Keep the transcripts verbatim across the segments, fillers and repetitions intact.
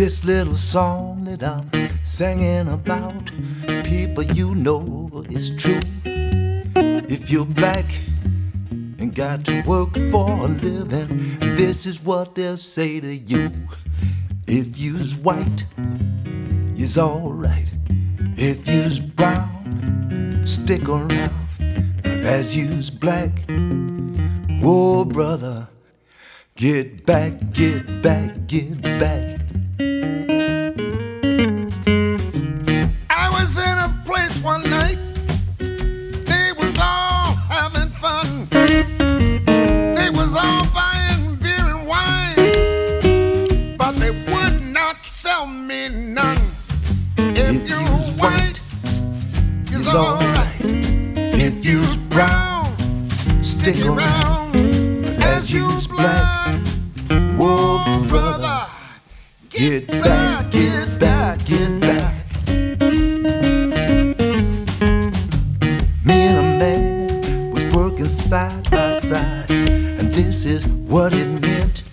This little song that I'm singing about, people, you know it's true. If you're black and got to work for a living, this is what they'll say to you. If you's white, you's alright. If you's brown, stick around. But as you's black, whoa brother, get back, get back, get back. I was in a place one night, they was all having fun. They was all buying beer and wine, but they would not sell me none. If, if you're white, it's alright. If you's brown, stick around. As you's black, whoa brother, get back, get back, get back. Me and a man was working side by side, and this is what it meant.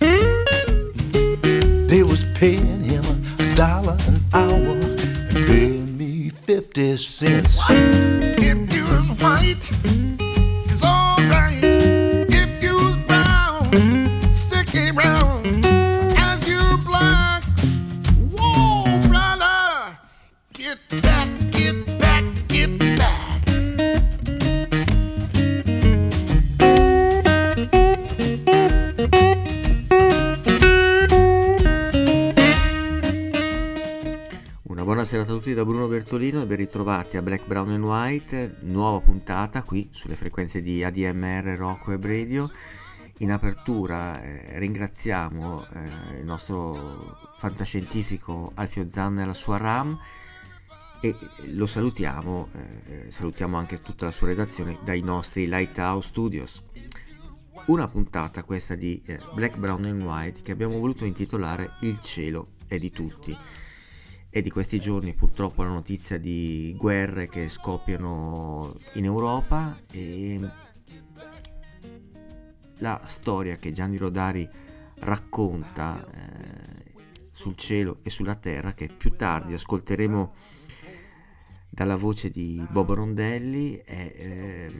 They was paying him a dollar an hour and paying me fifty cents. What? If you was white, it's alright. If you was brown, stick around. As you black, whoa brother, get back, get back, get back. Buonasera a tutti da Bruno Bertolino e ben ritrovati a Black, Brown and White, nuova puntata qui sulle frequenze di A D M R Rock Web Radio. In apertura eh, ringraziamo eh, il nostro fantascientifico Alfio Zanna e la sua RAM e lo salutiamo, eh, salutiamo anche tutta la sua redazione dai nostri Lighthouse Studios. Una puntata questa di eh, Black, Brown and White che abbiamo voluto intitolare Il cielo è di tutti. È di questi giorni purtroppo la notizia di guerre che scoppiano in Europa e la storia che Gianni Rodari racconta eh, sul cielo e sulla terra, che più tardi ascolteremo dalla voce di Bobo Rondelli, è, eh,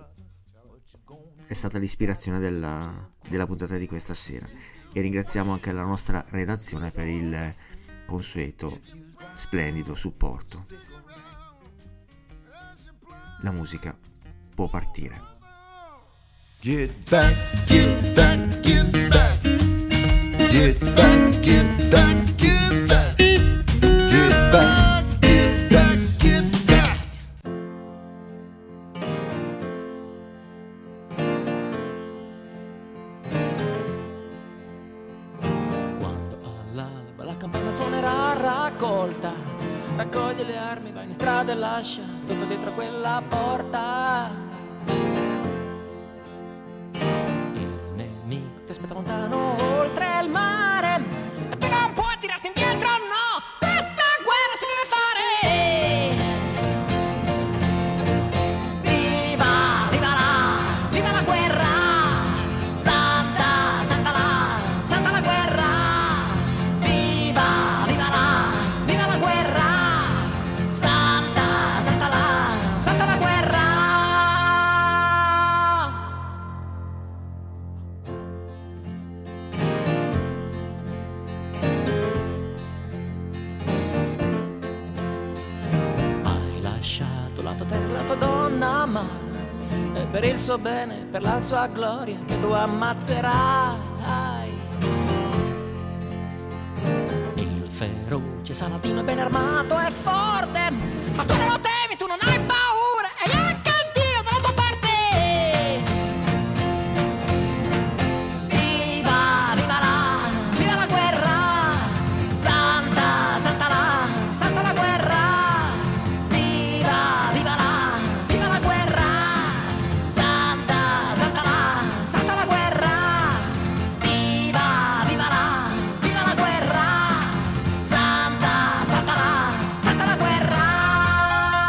è stata l'ispirazione della, della puntata di questa sera. E ringraziamo anche la nostra redazione per il consueto splendido supporto. La musica può partire. Get back, get back, get back. Get back, get back, get back. Get back, get back, get back. Quando all'alba la campana suonerà raccolta, raccoglie le armi, vai in strada e lascia tutto dietro quella porta. Il nemico ti aspetta lontano oltre il mare e tu non puoi tirarti indietro, no, questa guerra si deve fare. Viva, viva la, viva la guerra, santa, santa la, santa la guerra. Viva, viva la, viva la guerra, santa, santa la, santa la guerra. Hai lasciato la tua terra e la tua donna, ma è per il suo bene, per la sua gloria che tu ammazzerai. Il feroce Saladino è ben armato e forte, ma tu non lo temi, tu non hai paura e anche Dio dalla tua parte. Viva, viva la, viva la guerra, santa, santa la, santa la guerra. Viva, viva la, viva la guerra, santa, santa la, santa la guerra. Viva, viva la, viva la guerra, santa, santa la, santa la guerra.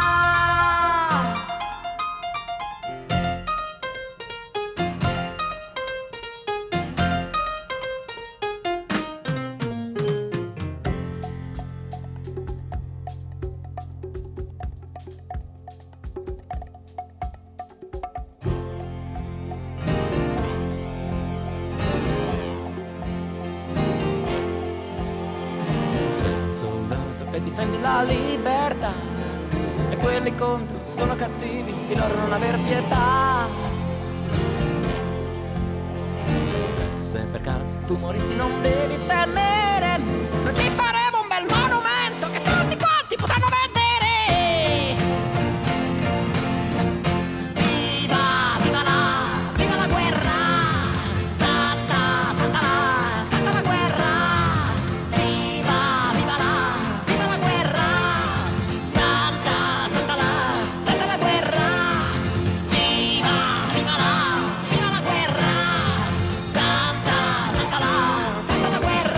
difendi la libertà. E quelli contro sono cattivi, di loro non aver pietà. Se per caso tu morissi non devi temere, noi ti faremo un bel monumento che tutti quanti potranno vedere. Viva, viva la, viva la guerra, santa, santa la, santa la guerra. Viva, viva la, viva la guerra, santa, santa la, santa la guerra. Viva, viva la, viva la guerra, santa, santa la, santa la guerra.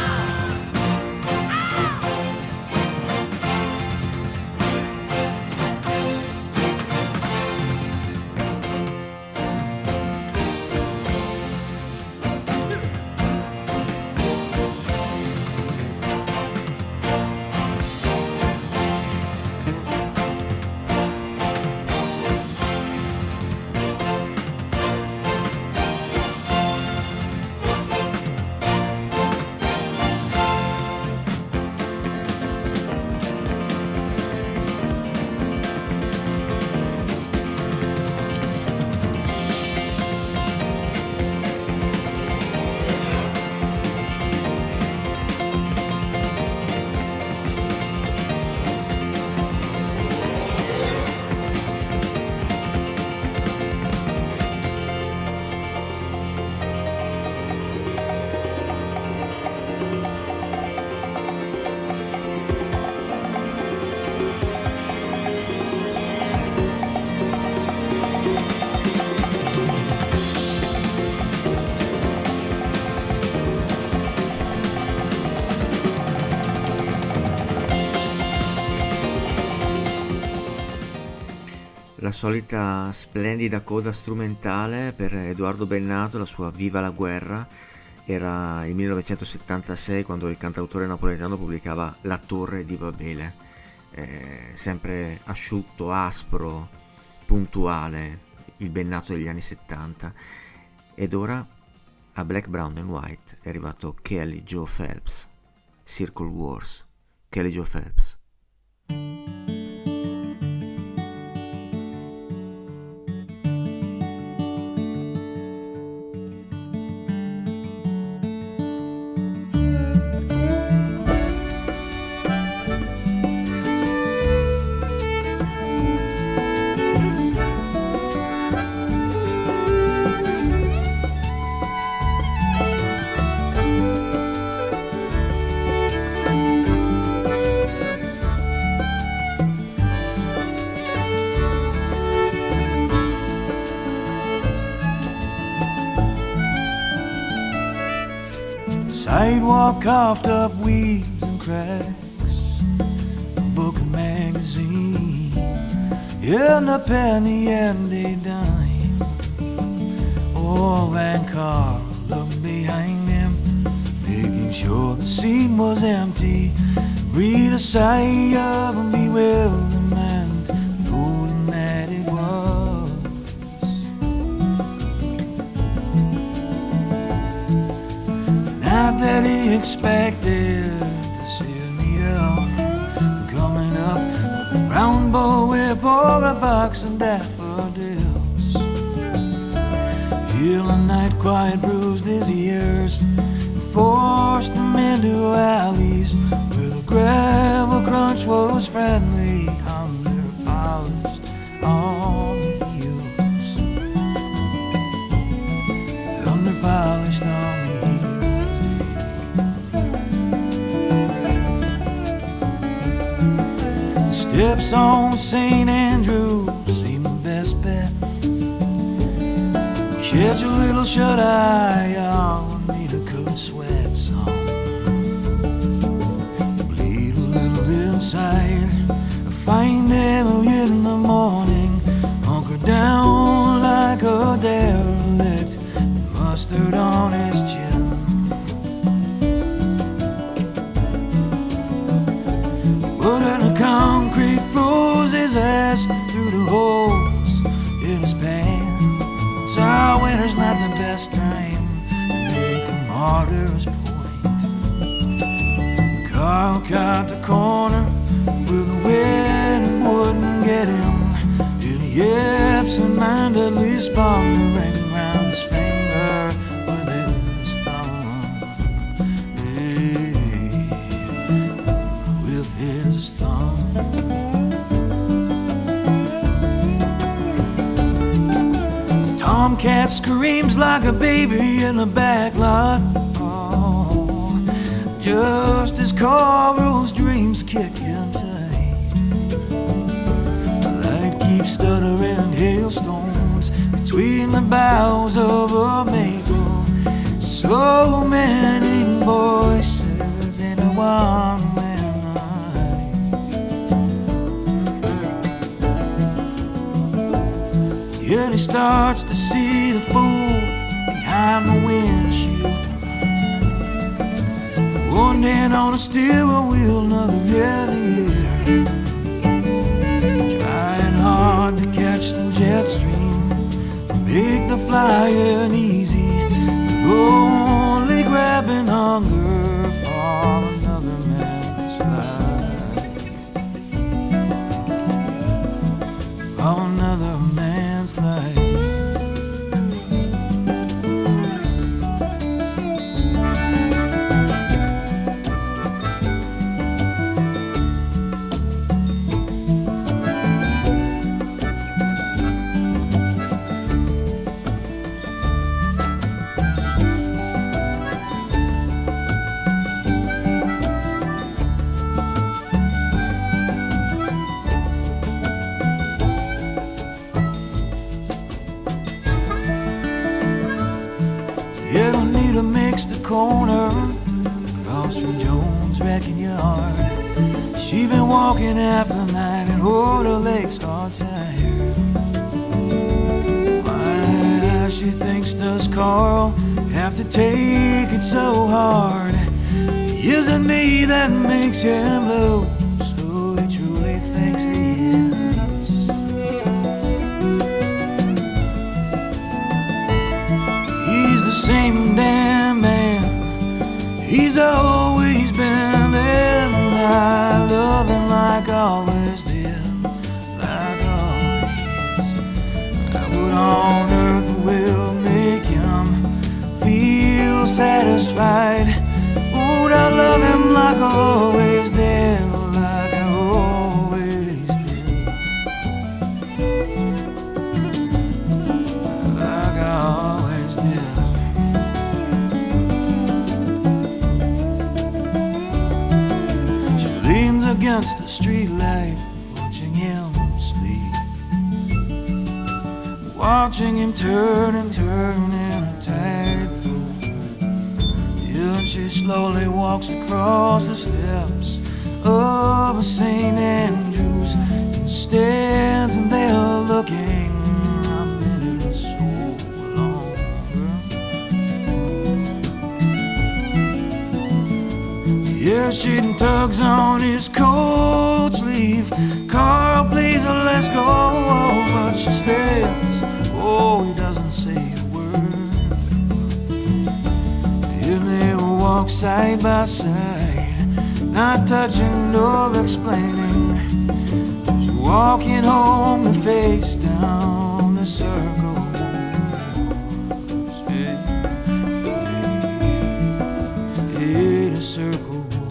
La solita splendida coda strumentale per Edoardo Bennato, la sua Viva la guerra. Era il millenovecentosettantasei quando il cantautore napoletano pubblicava La Torre di Babele. Eh, sempre asciutto, aspro, puntuale, il Bennato degli anni settanta. Ed ora a Black, Brown and White è arrivato Kelly Joe Phelps, Circle Wars. Kelly Joe Phelps. Sidewalk coughed up weeds and cracks, a book and magazine, and a penny and a dime. Old man Carl looked behind him, making sure the seat was empty. Breathe a sigh of bewilderment, knowing that it was. Not that he expected to see Anita coming up with a brown bullwhip or a box of daffodils. Hill and night quiet bruised his ears and forced him into alleys where the gravel crunch was friendly under polished on heels. Under polished on steps on Saint Andrews seem the best bet. Catch a little shut-eye on Anita could sweat some. Bleed a little inside. Find him in the morning, hunkered down like a derelict, mustard on his chin. Wood in a concrete froze his ass through the holes in his pants. Our winter's not the best time to make a martyr's point. Carl caught the corner He absent-mindedly spun the ring round his finger with his thumb. Hey, with his thumb. Tomcat screams like a baby in the back lot. Oh, just as Carl's dreams kick in tight. The light keeps stuttering hailstones between the boughs of a maple. So many voices in one man night. Yet he starts to see the fool behind the windshield. One hand on a steering wheel, another in the air. Trying hard to catch the jet stream, make the flying easy, but only grabbing hunger for another man's life. For another man's life. You don't need to mix the corner across from Jones' wrecking yard. She been walking half the night and oh, her legs are tired. Why, she thinks, does Carl have to take it so hard? Is it me that makes him blue? So he truly thinks he is. He's the same damn man he's always been there. And I love him like I always did, like always. What on earth will make him feel satisfied? Would I love him like I always did, like I always did, like I always did. She leans against the streetlight, watching him sleep, watching him turn and turn in a tightrope. And she slowly walks across the steps of a Saint Andrews and stands in there looking a minute so longer. Yeah, she tugs on his coat sleeve. Carl plays a let's go, but she stares. Oh, he doesn't say a word. And they will walk side by side, not touching nor explaining, just walking home and face down the circle. Hey, hey, hey, the circle.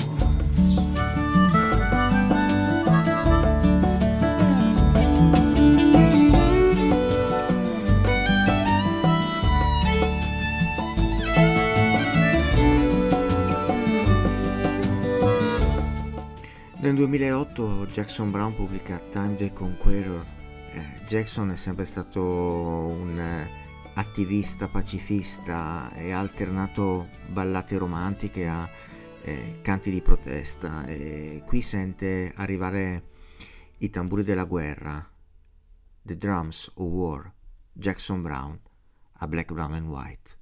Nel duemilaotto Jackson Browne pubblica Time the Conqueror. Eh, Jackson è sempre stato un eh, attivista pacifista e ha alternato ballate romantiche a eh, canti di protesta, e qui sente arrivare i tamburi della guerra, The Drums of War, Jackson Browne a Black, Brown and White.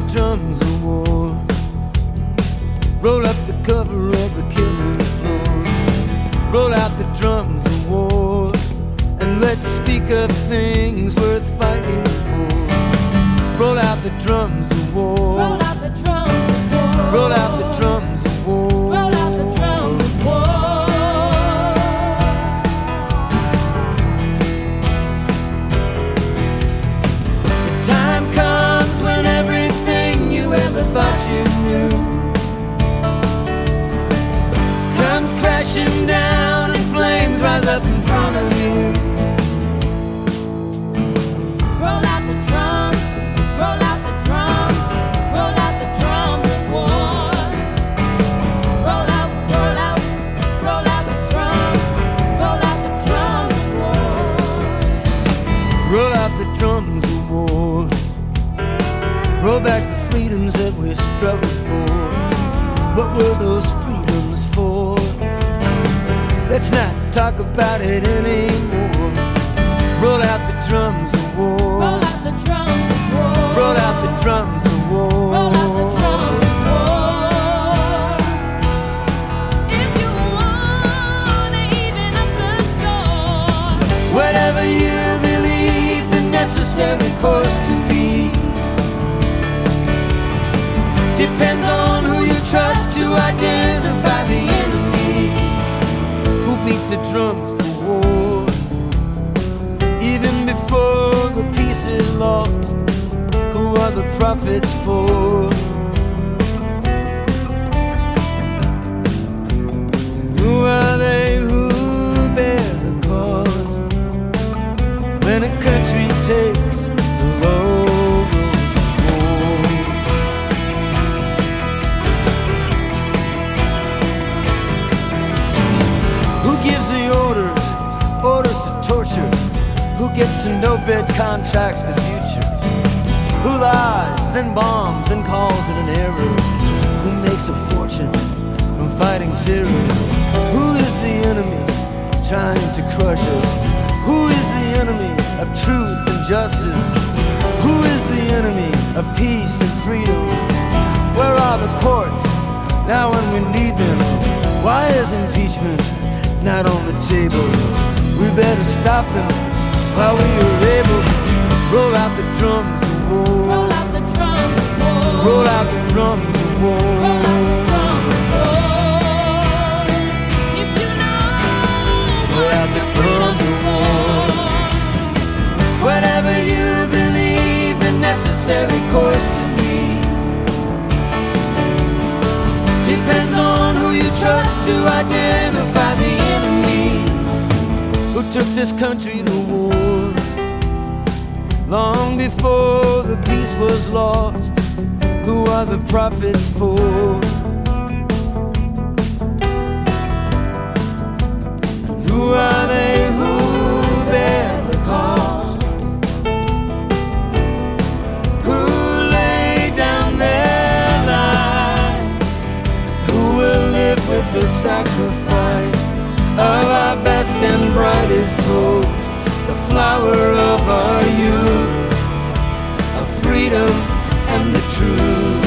the drums of war. Roll up the cover of the killing floor. Roll out the drums of war, and let's speak of things worth fighting for. Roll out the drums of war. Roll out the drums of war. Roll out the drums of war. Roll out the drums of war. The time comes when everything you ever thought you knew comes crashing down, and flames rise up in front of you. Roll out the drums, roll out the drums, roll out the drums of war. Roll out, roll out, roll out the drums, roll out the drums of war. Roll out the drums of war. Roll back the freedoms that we struggled for. What were those freedoms for? Let's not talk about it anymore. Roll out the drums of war. Roll out the drums of war. Roll out the drums of war. Roll out the drums of war. If you wanna even up the score, Whatever you believe the necessary course to be depends on who you trust to identify the enemy who beats the drums for war. Even before the peace is lost, who are the prophets for? Who are they who bear the cost when a country takes the load of war? Who gives the orders, orders to torture? Who gets to no-bid contract the future? Who lies, then bombs, and calls it an error? Who makes a fortune from fighting terror? Who is the enemy trying to crush us? Who is the enemy of truth and justice? Who is the enemy of peace and freedom? Where are the courts now when we need them? Why is impeachment not on the table? We better stop them while we are able. Roll out the drums of war. roll out the drums of war. Roll out the drums of war. Roll out the drums of war. If you know Roll out the drums of war. Whatever you believe the necessary course to be depends on who you trust to identify the enemy who took this country to war. Long before the peace was lost, who are the prophets for? Who are they who bear the cost? Who lay down their lives? Who will live with the sacrifice of our best and brightest hopes? The flower of our youth, of freedom and the truth.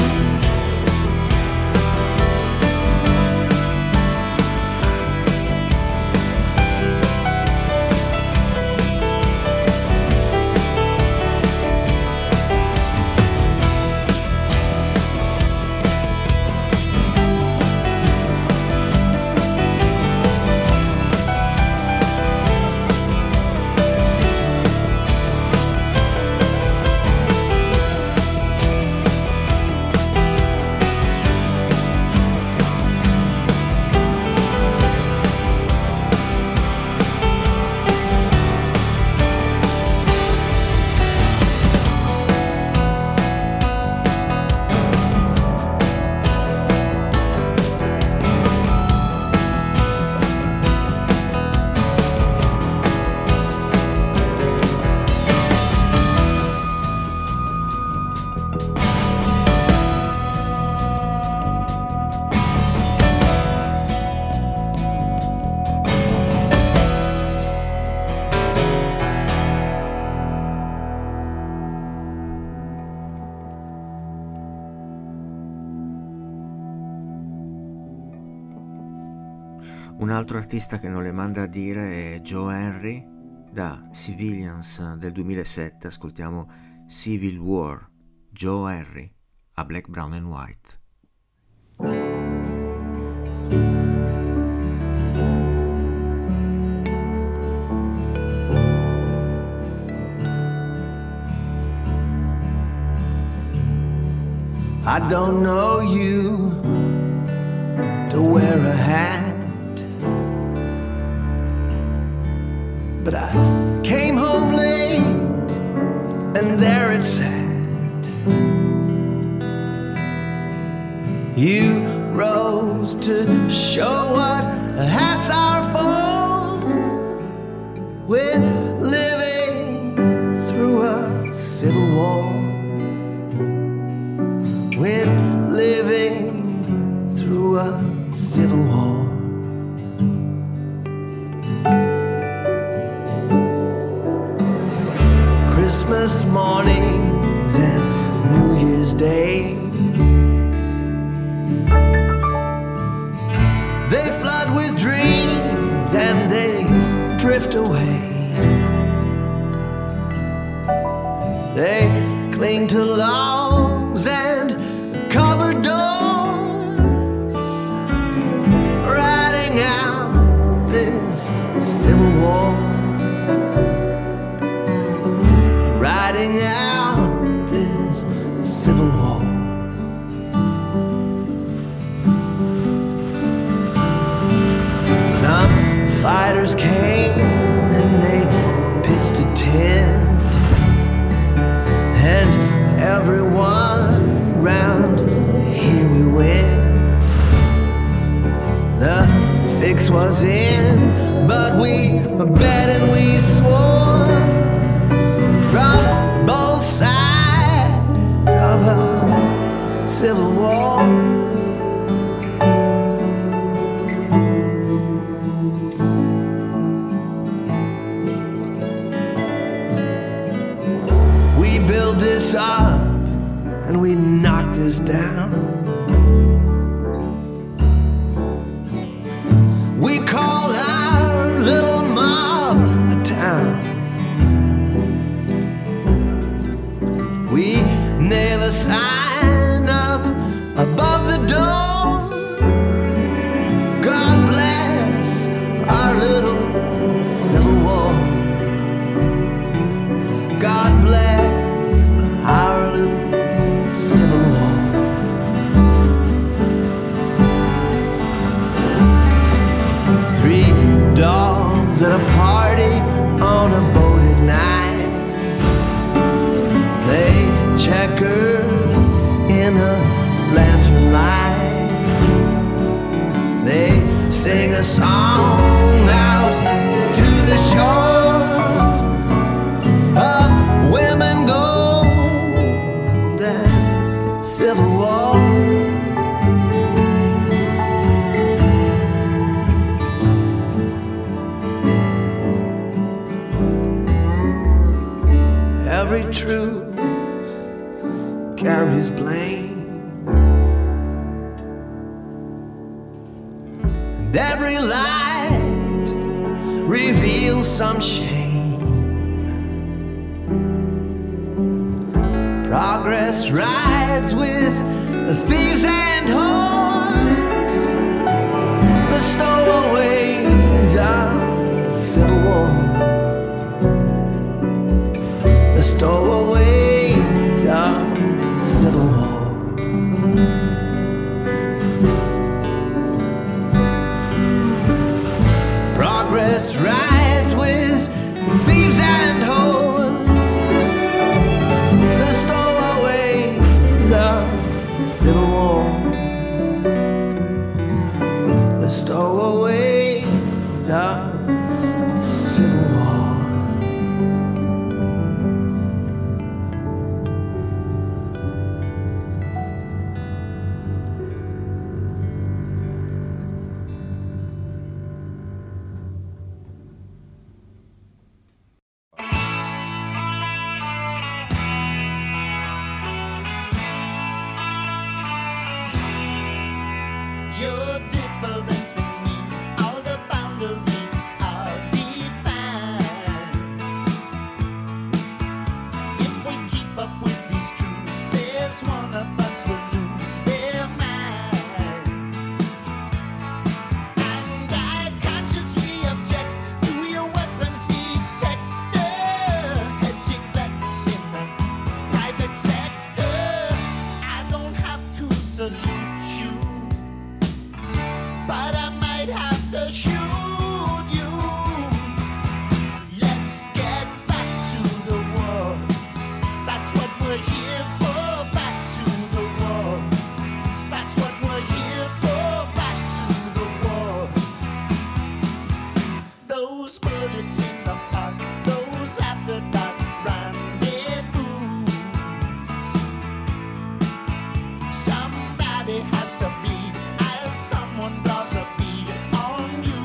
Un altro artista che non le manda a dire è Joe Henry, da Civilians del duemilasette ascoltiamo Civil War, Joe Henry a Black, Brown and White. I don't know you to wear a hat, but I came home late and there it sat. You rose to show what hats are for. We're living through a civil war. We're living through a civil war. Christmas mornings and New Year's Day, they flood with dreams and they drift away. They cling to logs and cupboard doors, riding out this civil war, riding out this civil war. Some fighters came and they pitched a tent, and everyone round here we went. The fix was in, but we bet and we swore from both sides of a civil war. We build this up and we knock this down. We call our little mob a town. We nail a sign up above the door. God bless our little civil war. God bless our little civil war. Three dogs at a party on a boat at night play checkers in a lantern light. They sing a song out to the shore of women gold and civil war. Every truth carries blame, and every light reveals some shame. Progress rides with thieves and whores, the stowaways of civil war. The stowaways of civil war. Progress rides with thieves and whores, the stowaways of civil war. The stowaways of civil war. one of us will lose their mind. And I consciously object to your weapons detector, hedging bets in the private sector. I don't have to salute you, but I might have to shoot you. Let's get back to the war. That's what we're here for. Back to the war. That's what we're here for. Back to the war. Those bullets in the park, those after dark rendezvous. Somebody has to bleed as someone draws a bead on you.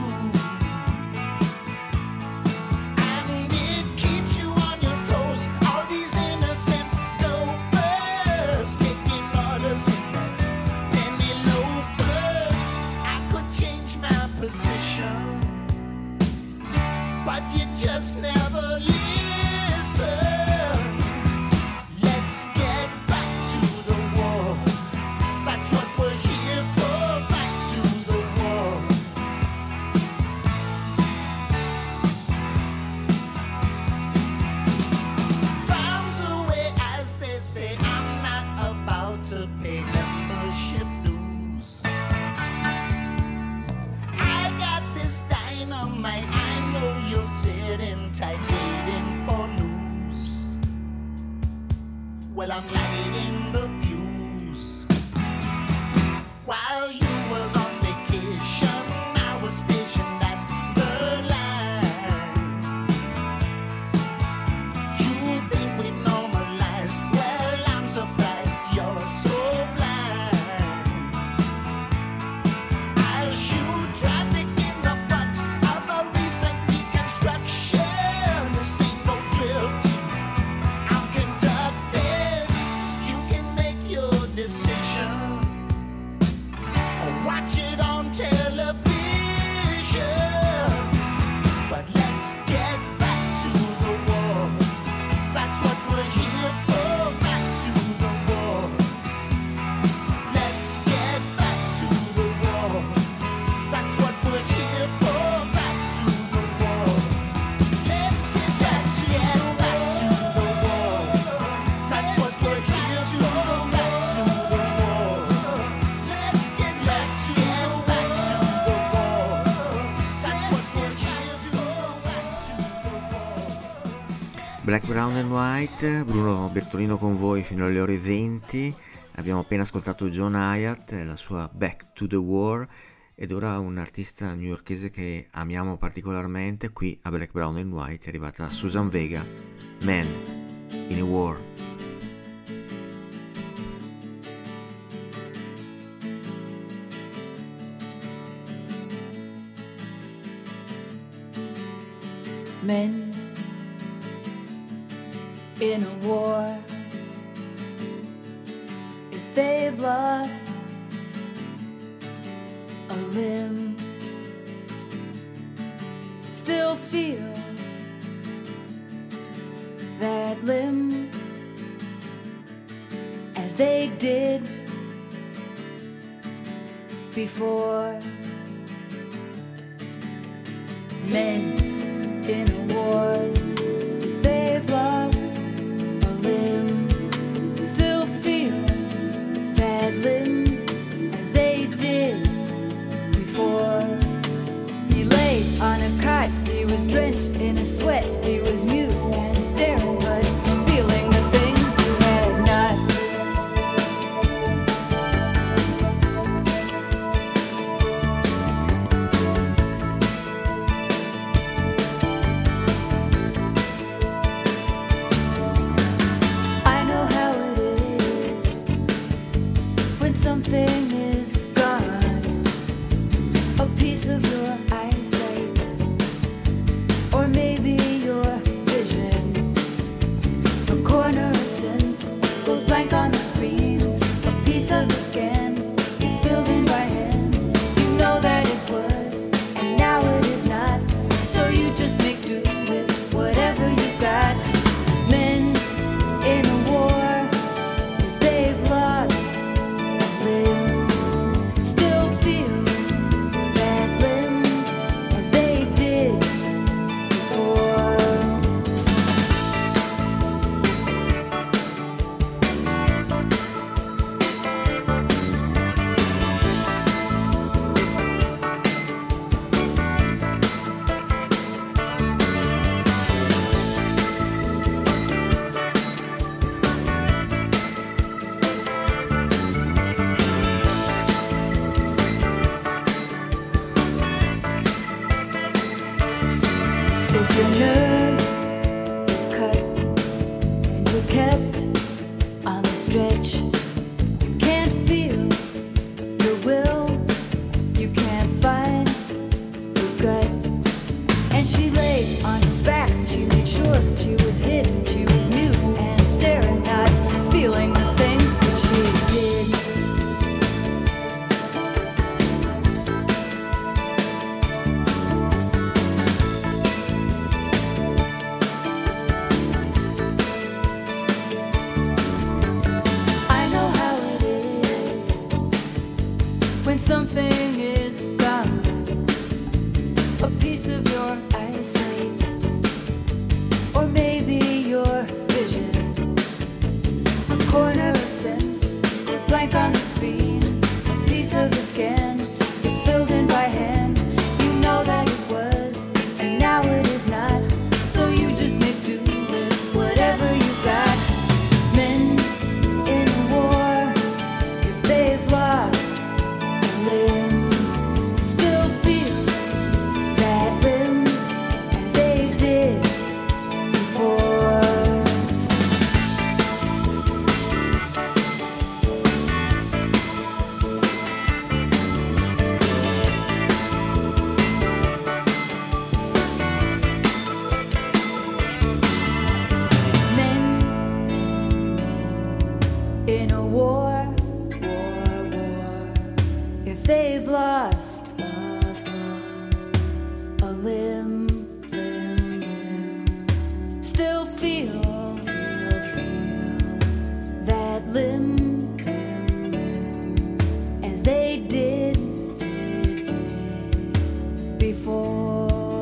And it keeps you on your toes. All these innocent loafers taking orders in the penny loafers. I could change my position, but you just never listen. Let's get back to the war. That's what we're here for. Back to the war. Bombs away, as they say. I'm not about to pay membership dues. I got this dynamite. I know you're sitting tight, waiting for news. Well, I'm lighting the fuse. While you were on vacation, I was stationed at the line. You think we normalized? Well, I'm surprised you're so blind. I'll shoot traffic in the box of a recent reconstruction. This ain't no drill team I'm conducting. You can make your decision. Watch it on television. But let's get back to the war. That's what we're here for. Back to the war. Let's get back to the war. That's what we're here for. Back to the war. Let's get back to, get back to the war. That's what we're here for. Back to the war. Let's get back to, get back to the war. That's what we're here for. Back to the war. Black, Brown and White, Bruno Bertolino con voi fino alle ore venti. Abbiamo appena ascoltato John Hyatt e la sua Back to the War, ed ora un artista newyorkese che amiamo particolarmente. Qui a Black, Brown and White è arrivata Susan Vega, Man in a War. Men in a war, if they've lost a limb, still feel that limb as they did before. Men in a war, if they've lost a limb, still feel that limb as they did before. He lay on a cot, he was drenched in a sweat, he was mute and staring, but feeling the thing you had not. I know how it is when something is gone, a piece of your eyesight, or maybe your vision. A corner of sense goes blank on the screen, a piece of the scan is filled in by hand. You know that it was, and now it is not, so you just make do with whatever you've got. Men in a war, if they've lost your nerve is cut and you're kept on the stretch. Can't feel your will, you can't find your gut. And she lay on her back, she made sure she was hidden, she was mute and staring, not feeling the thing that she did. I know how it is when something is gone, a piece of your eyesight, or maybe your vision. A corner of sense is blank on the screen, a piece of the scan it's filled in by hand. You know that it was, and now it is not, so you just make do with whatever you got. Men in a war, if they've lost a limb, still feel that limb as they did before. Men in a war, war, war, if they've lost, lost, lost a limb, limb, limb, still feel, feel, feel that limb, limb, limb, as they did, did, did before.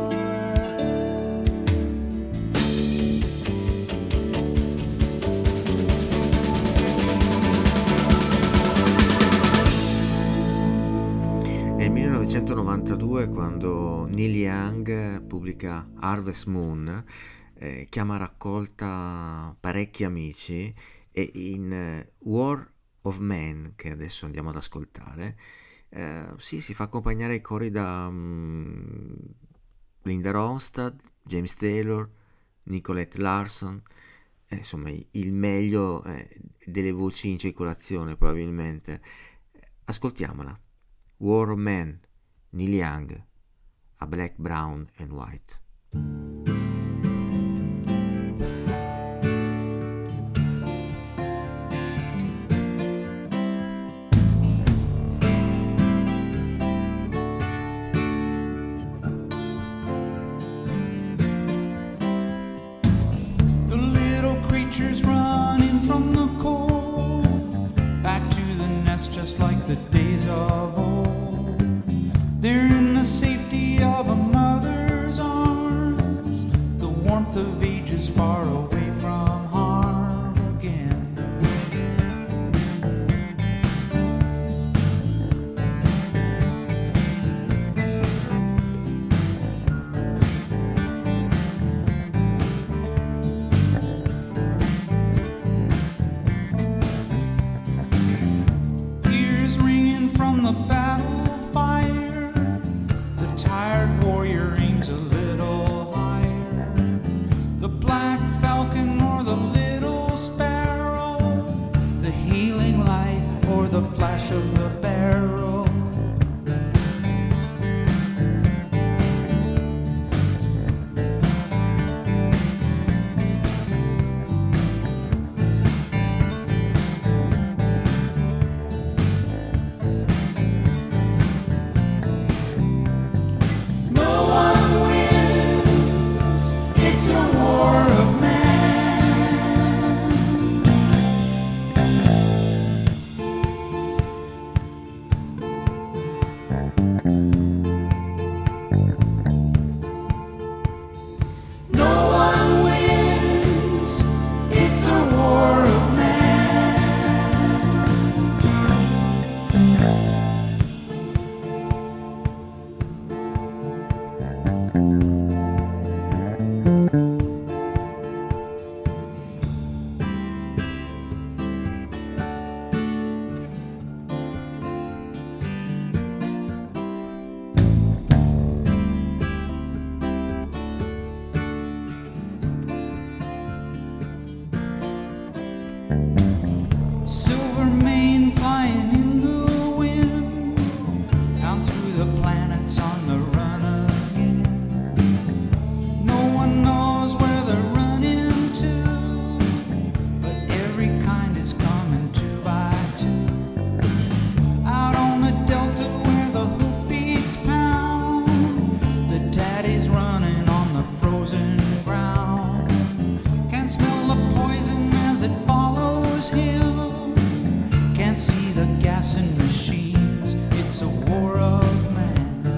Nel millenovecentonovantadue, quando Neil Young pubblica Harvest Moon, eh, chiama a raccolta parecchi amici, e in eh, War of Men, che adesso andiamo ad ascoltare, eh, sì, si fa accompagnare ai cori da mm, Linda Ronstadt, James Taylor, Nicolette Larson, eh, insomma il meglio eh, delle voci in circolazione probabilmente. Ascoltiamola. War of Men, Neil Young, a Black, Brown and White. The little creatures running from the cold, back to the nest just like the days of old. They're in the safety of a mother's arms, the warmth of ages far away from harm again. Ears ringing from the battle fire, the tired warrior aims a little higher. The black falcon or the little sparrow, the healing light or the flash of the barrel. No one wins, it's a war of men. see the gas in machines. It's a war of man.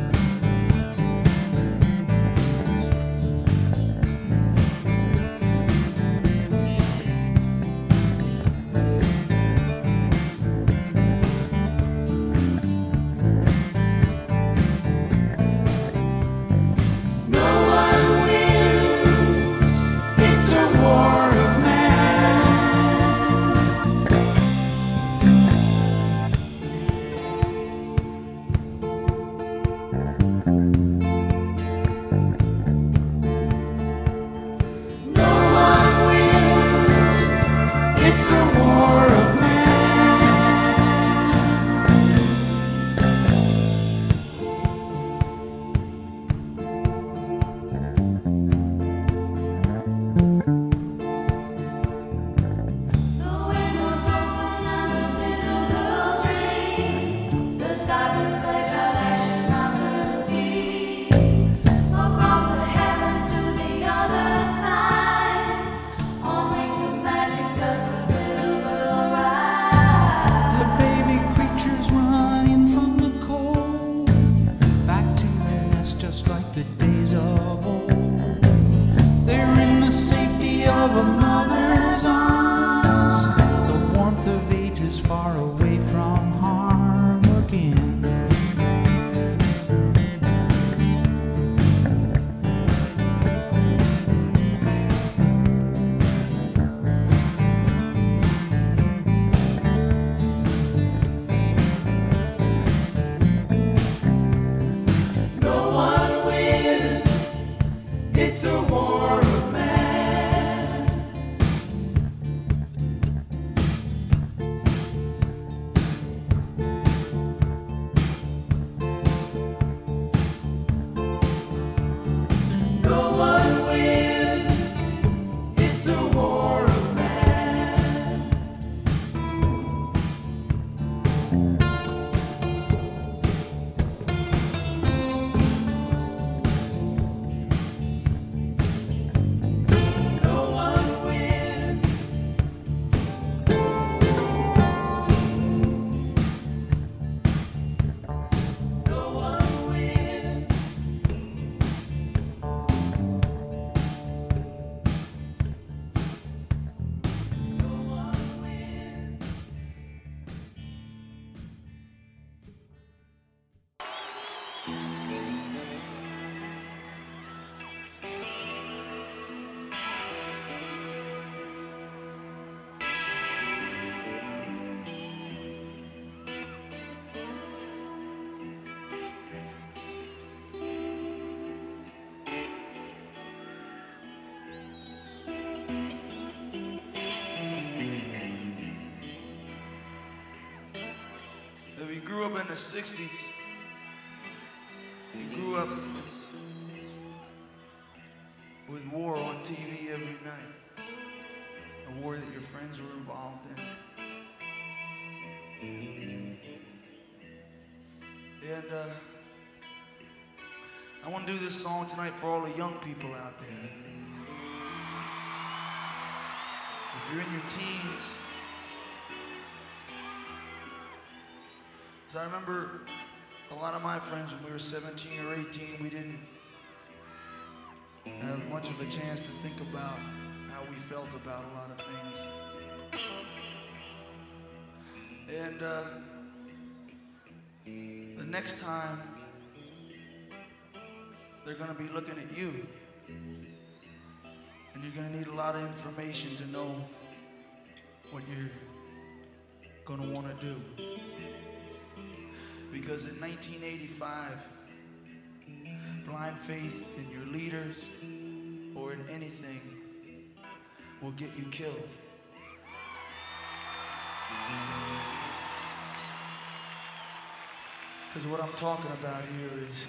If you grew up in the sixties, you grew up with war on T V every night, a war that your friends were involved in. And uh, I want to do this song tonight for all the young people out there. If you're in your teens, because I remember a lot of my friends when we were seventeen or eighteen, we didn't have much of a chance to think about how we felt about a lot of things. And uh, the next time, they're going to be looking at you, and you're going to need a lot of information to know what you're going to want to do. Because in nineteen eighty-five, blind faith in your leaders or in anything will get you killed. Because what I'm talking about here is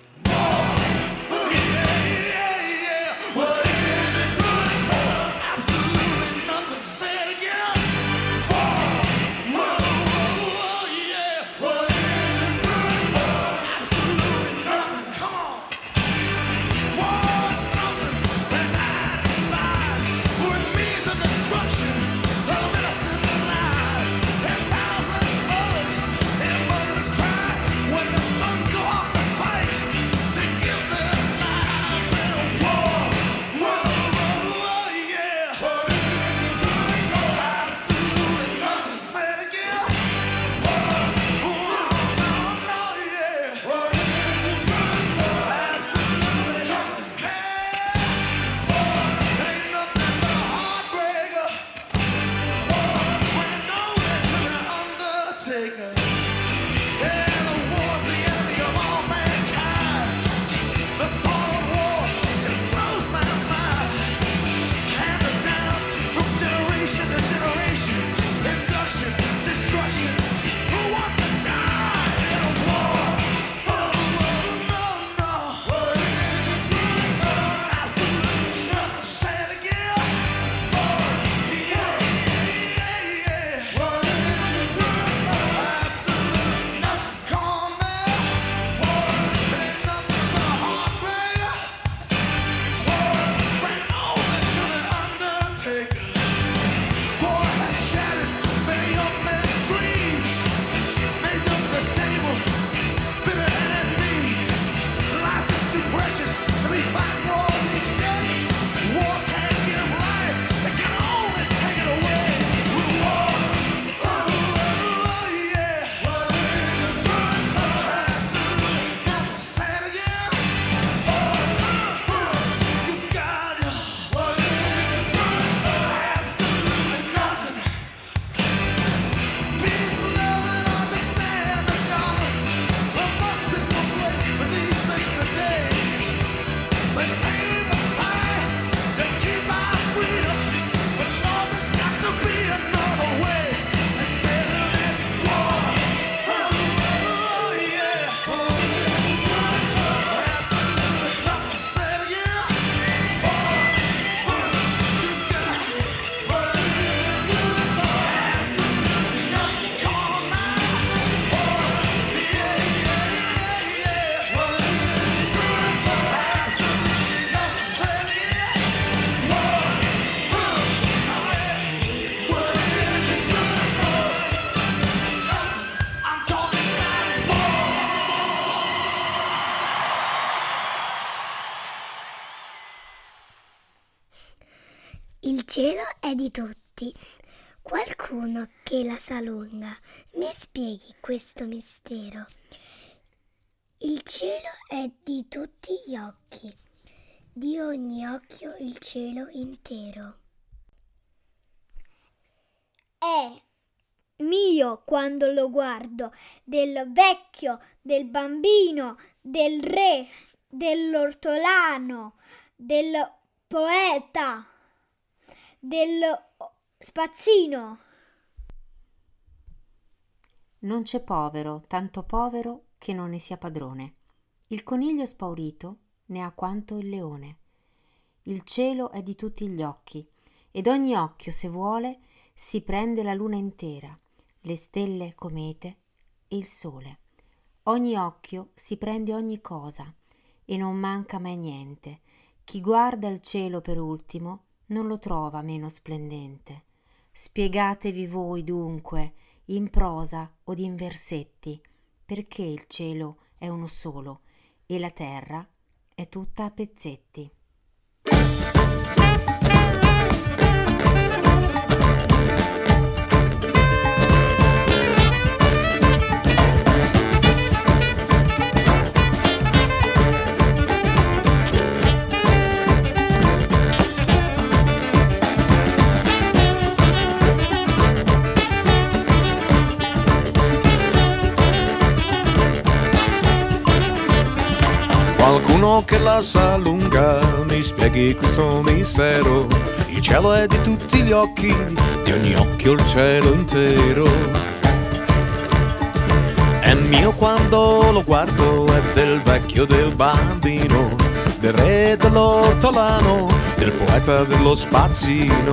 what is it good for? Absolutely nothing. Say it again. Whoa, whoa, whoa, yeah. What is it good for? Absolutely nothing. Come on. War is something that I despise, for it means the destruction of innocent lives and thousands Il cielo è di tutti. Qualcuno che la sa lunga mi spieghi questo mistero. Il cielo è di tutti gli occhi, di ogni occhio il cielo intero. È mio quando lo guardo, del vecchio, del bambino, del re, dell'ortolano, del poeta, del spazzino. Non c'è povero, tanto povero che non ne sia padrone. Il coniglio spaurito ne ha quanto il leone. Il cielo è di tutti gli occhi, ed ogni occhio, se vuole, si prende la luna intera, le stelle comete e il sole. Ogni occhio si prende ogni cosa, e non manca mai niente. Chi guarda il cielo per ultimo non lo trova meno splendente. Spiegatevi voi dunque, in prosa o in versetti, perché il cielo è uno solo e la terra è tutta a pezzetti. Qualcuno che la sa lunga mi spieghi questo mistero. Il cielo è di tutti gli occhi, di ogni occhio il cielo intero. È mio quando lo guardo, è del vecchio, del bambino, del re, dell'ortolano, del poeta, dello spazzino.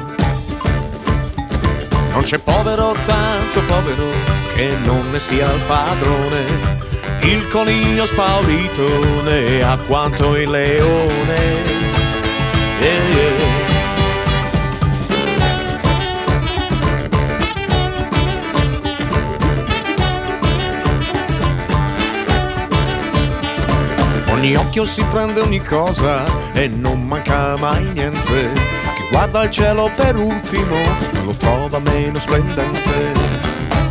Non c'è povero, tanto povero, che non ne sia il padrone. Il coniglio spaurito ne ha quanto il leone. Yeah, yeah. Ogni occhio si prende ogni cosa e non manca mai niente. Chi guarda il cielo per ultimo non lo trova meno splendente.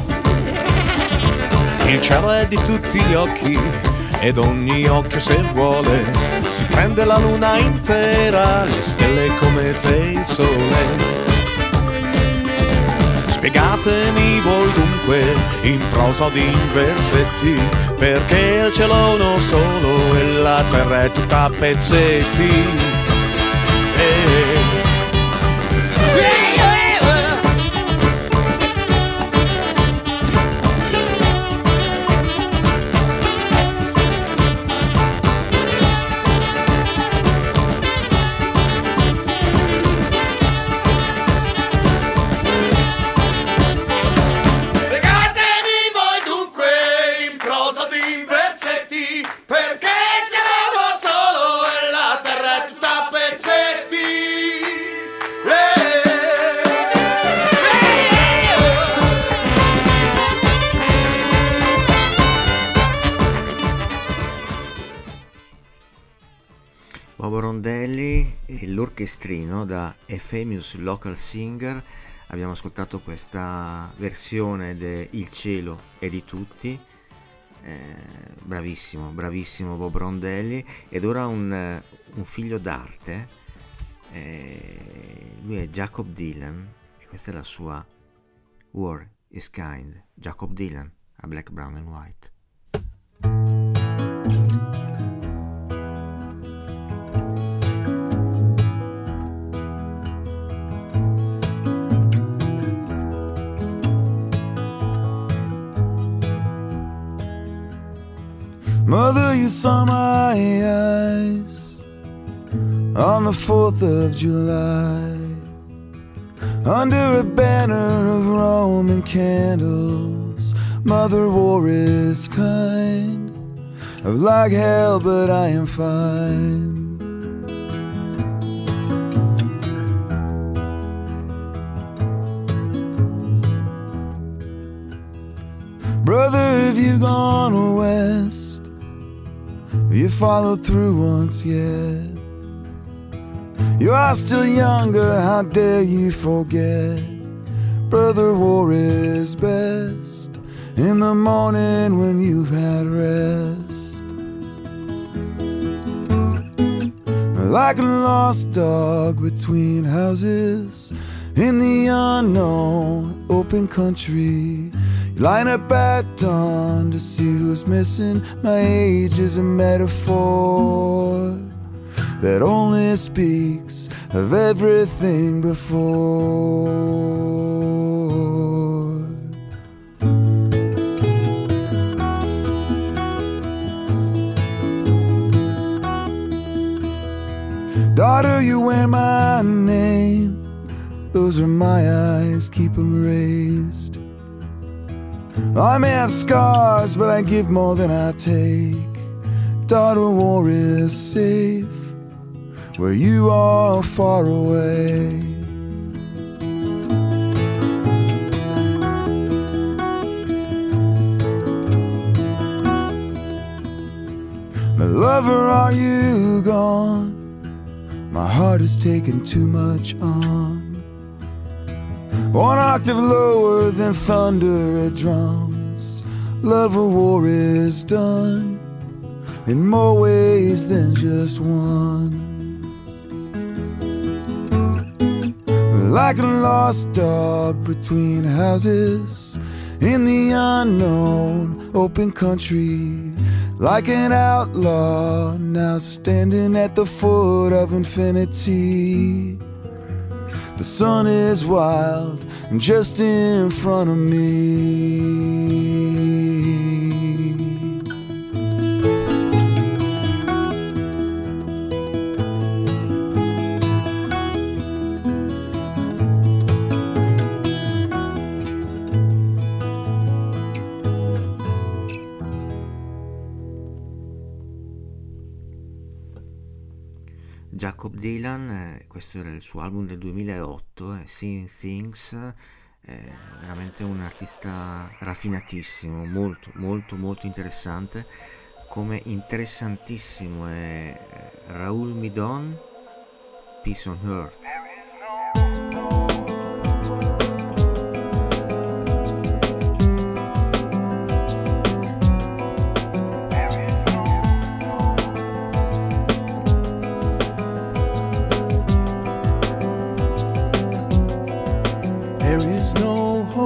Il cielo è di tutti gli occhi ed ogni occhio, se vuole, si prende la luna intera, le stelle, comete e il sole. Spiegatemi voi dunque in prosa o in versetti, perché il cielo è uno solo e la terra è tutta a pezzetti. Eh. Bobo Rondelli e l'orchestrino da A Famous Local Singer. Abbiamo ascoltato questa versione de Il cielo è di tutti. Eh, bravissimo, bravissimo Bobo Rondelli. Ed ora un, un figlio d'arte. Eh, lui è Jacob Dylan e questa è la sua War is Kind. Jacob Dylan a Black, Brown and White. Mother, you saw my eyes on the fourth of July under a banner of Roman candles. Mother, war is kind, of like hell, but I am fine. Brother, have you gone west? You followed through once yet? You are still younger, how dare you forget? Brother, war is best in the morning when you've had rest. Like a lost dog between houses in the unknown open country, line up at dawn to see who's missing. My age is a metaphor that only speaks of everything before. Daughter, you wear my name. Those are my eyes, keep them raised. I may have scars, but I give more than I take. Daughter, war is safe where you are far away. My lover, are you gone? My heart has taken too much on. One octave lower than thunder at drums. Love or war is done in more ways than just one. Like a lost dog between houses in the unknown open country, like an outlaw now standing at the foot of infinity. The sun is wild and just in front of me. Jacob Dylan, eh, questo era il suo album del duemilaotto, eh, Seeing Things, eh, veramente un artista raffinatissimo, molto molto molto interessante. Come interessantissimo è Raoul Midon, Peace on Earth. There is no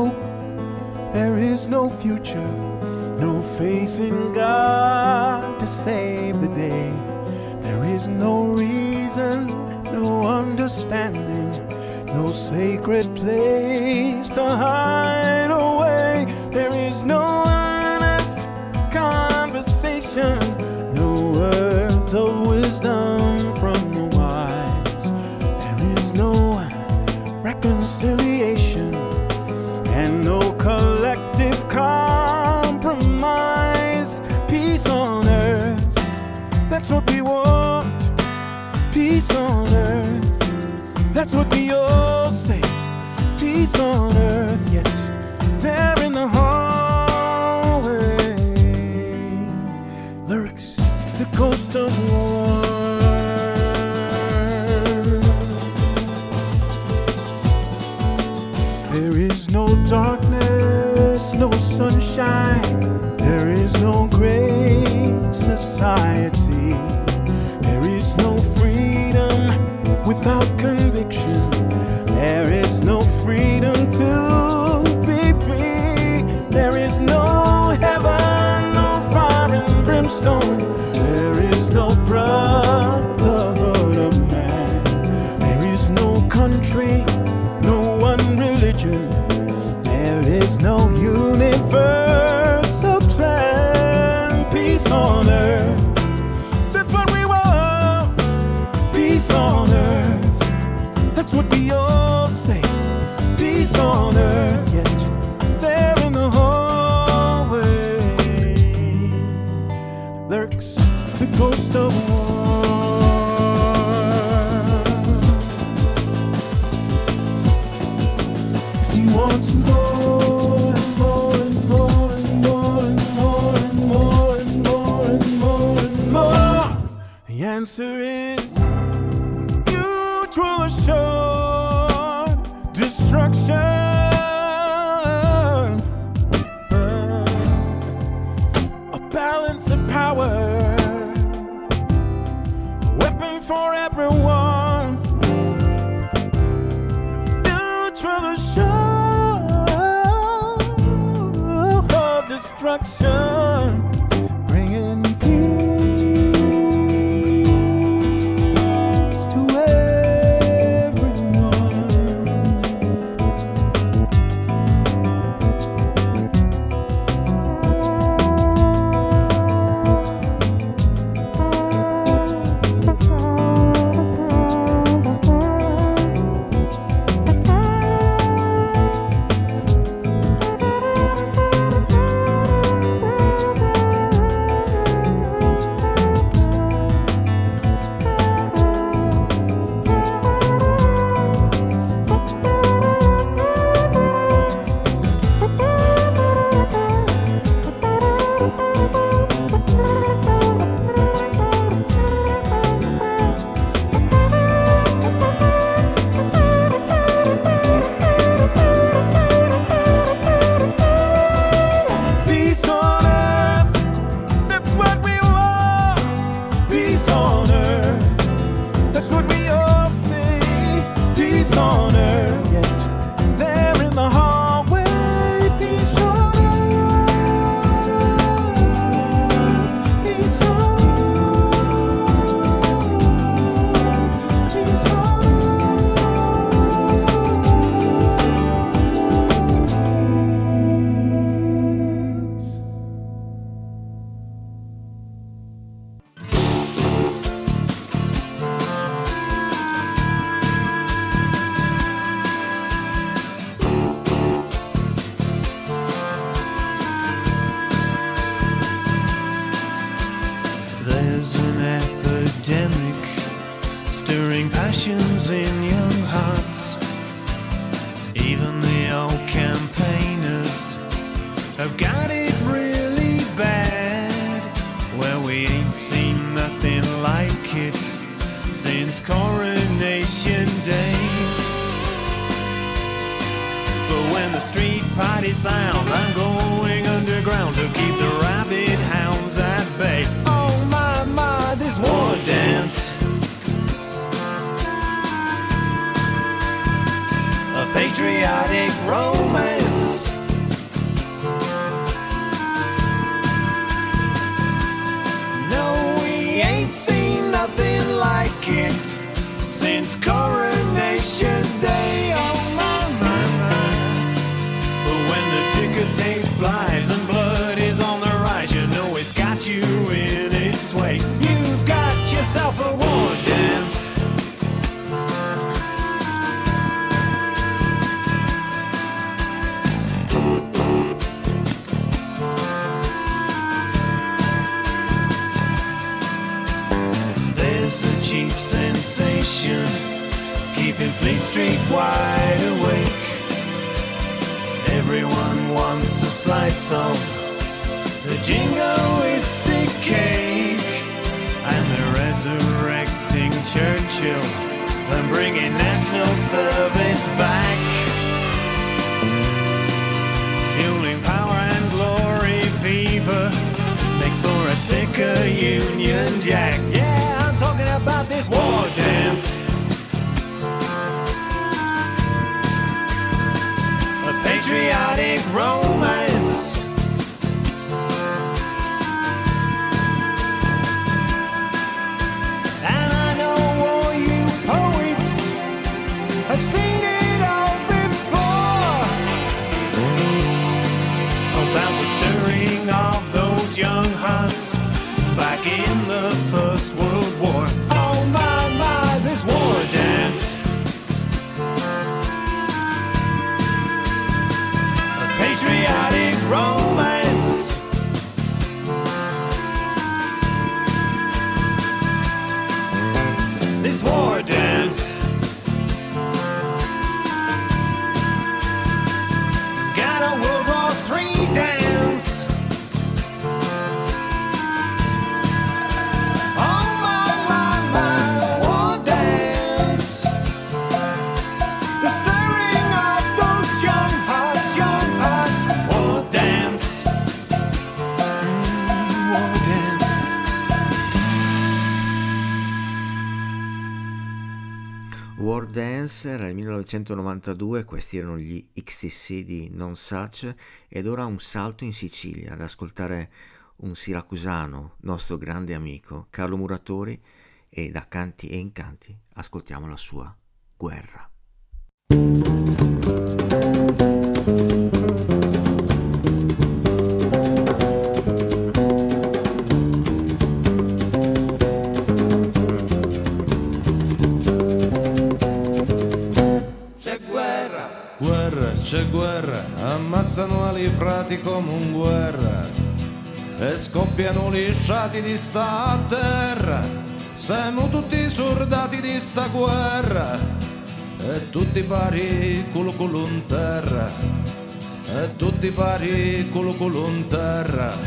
no faith in God to save the day. There is no reason, no understanding, no sacred place to hide away. There is no honest conversation, no words of wisdom from the wise. There is no reconciliation and no collective compromise. Peace on earth, that's what we want. Peace on earth, that's what we all say. Peace on earth, yet there in the hallway lurks the ghost of war. There is no darkness, no sunshine. There is no great society. There is no freedom without conviction. There is no freedom to be free. There is no heaven, no fire and brimstone. There is no brotherhood of man. There is no country, no one religion. There is no universal plan. Peace on earth, that's what we want. Peace on earth, that's what we all say. Peace on earth, yet there in the hallway lurks the ghost of war. He wants more and more and more and more and more and more and more and more and more. The answer is mutual assured destruction. A balance of power, a weapon for everyone. Mutual assured destruction, bringing peace to everyone. Peace on earth, that's what we want. Peace on earth, that's what we all say. Peace on earth, yet there in the hallway. Peace on earth, peace on earth, peace on There's an epidemic stirring passions in young hearts. Even the old campaigners have got it really bad, where we ain't seen nothing like it since Coronation Day. But when the street parties sound, I'm going underground to keep the rabid hounds at bay. Oh my, my, this war dance, a patriotic romance. Lincoln's coronation day. Oh my, my, my. But when the ticker tape flies and blood is on the rise, you know it's got you in its sway. You've got yourself a war dance. There's a cheap sensation keeping Fleet Street wide awake. Everyone wants a slice of the jingoistic cake, and they're resurrecting Churchill and bringing national service back, fueling power and glory fever makes for a sicker Union Jack. Yeah, I'm talking about this war dance. A patriotic romance. And I know all you poets have seen it all before, about the stirring of those young hearts back in the First World War. Oh my, my, this war dance. A patriotic romance. This war dance. Got a World War Three dance. Oh my, my, my, war dance. The stirring of those young hearts, young hearts. War dance. Mm, war dance. War Dance era il millenovecentonovantadue, questi erano gli X T C di Non Such, ed ora un salto in Sicilia ad ascoltare un siracusano, nostro grande amico, Carlo Muratori, e da Canti e Incanti ascoltiamo la sua Guerra. C'è guerra, Guerra, c'è guerra, ammazzano ali frati come un guerra e scoppiano lisciati di sta terra. Siamo tutti soldati di sta guerra e tutti pari culo culo in terra, e tutti pari culo culo in terra.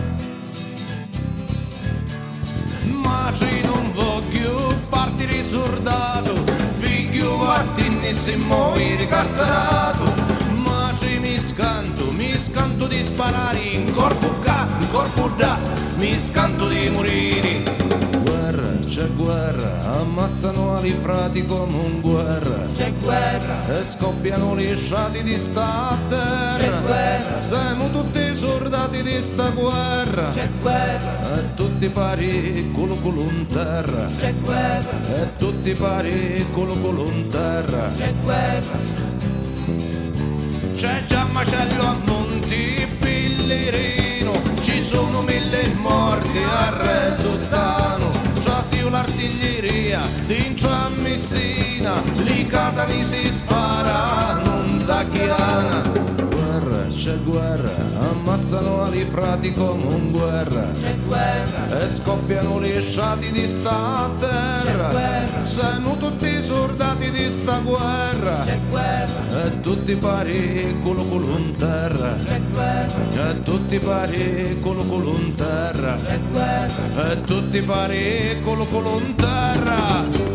Ma ci non voglio partire soldato, figlio guardinissimo ricazzarato. Ma ci mi scanto, mi scanto di sparare in corpo ca, in corpo da, mi scanto di morire. Guerra, c'è guerra, ammazzano ali frati come un guerra. c'è guerra, E scoppiano lisciati di sta terra. c'è guerra, Siamo tutti soldati di sta guerra. c'è guerra, E tutti pari culo culo in terra. c'è guerra, E tutti pari culo culo in terra. c'è guerra, C'è già macello a Monti Pillerino, ci sono mille morti a Resottano. Già si l'artiglieria dentro a Messina, lì Catani si spara, non da Chiana. Guerra, c'è guerra, ammazzano ali frati come un guerra. c'è guerra, E scoppiano lisciati di sta terra. guerra. Siamo tutti soldati di sta guerra. c'è guerra, E tutti pari culo culo in terra. c'è guerra, E tutti pari culo culo in terra. c'è guerra, E tutti pari culo culo in terra.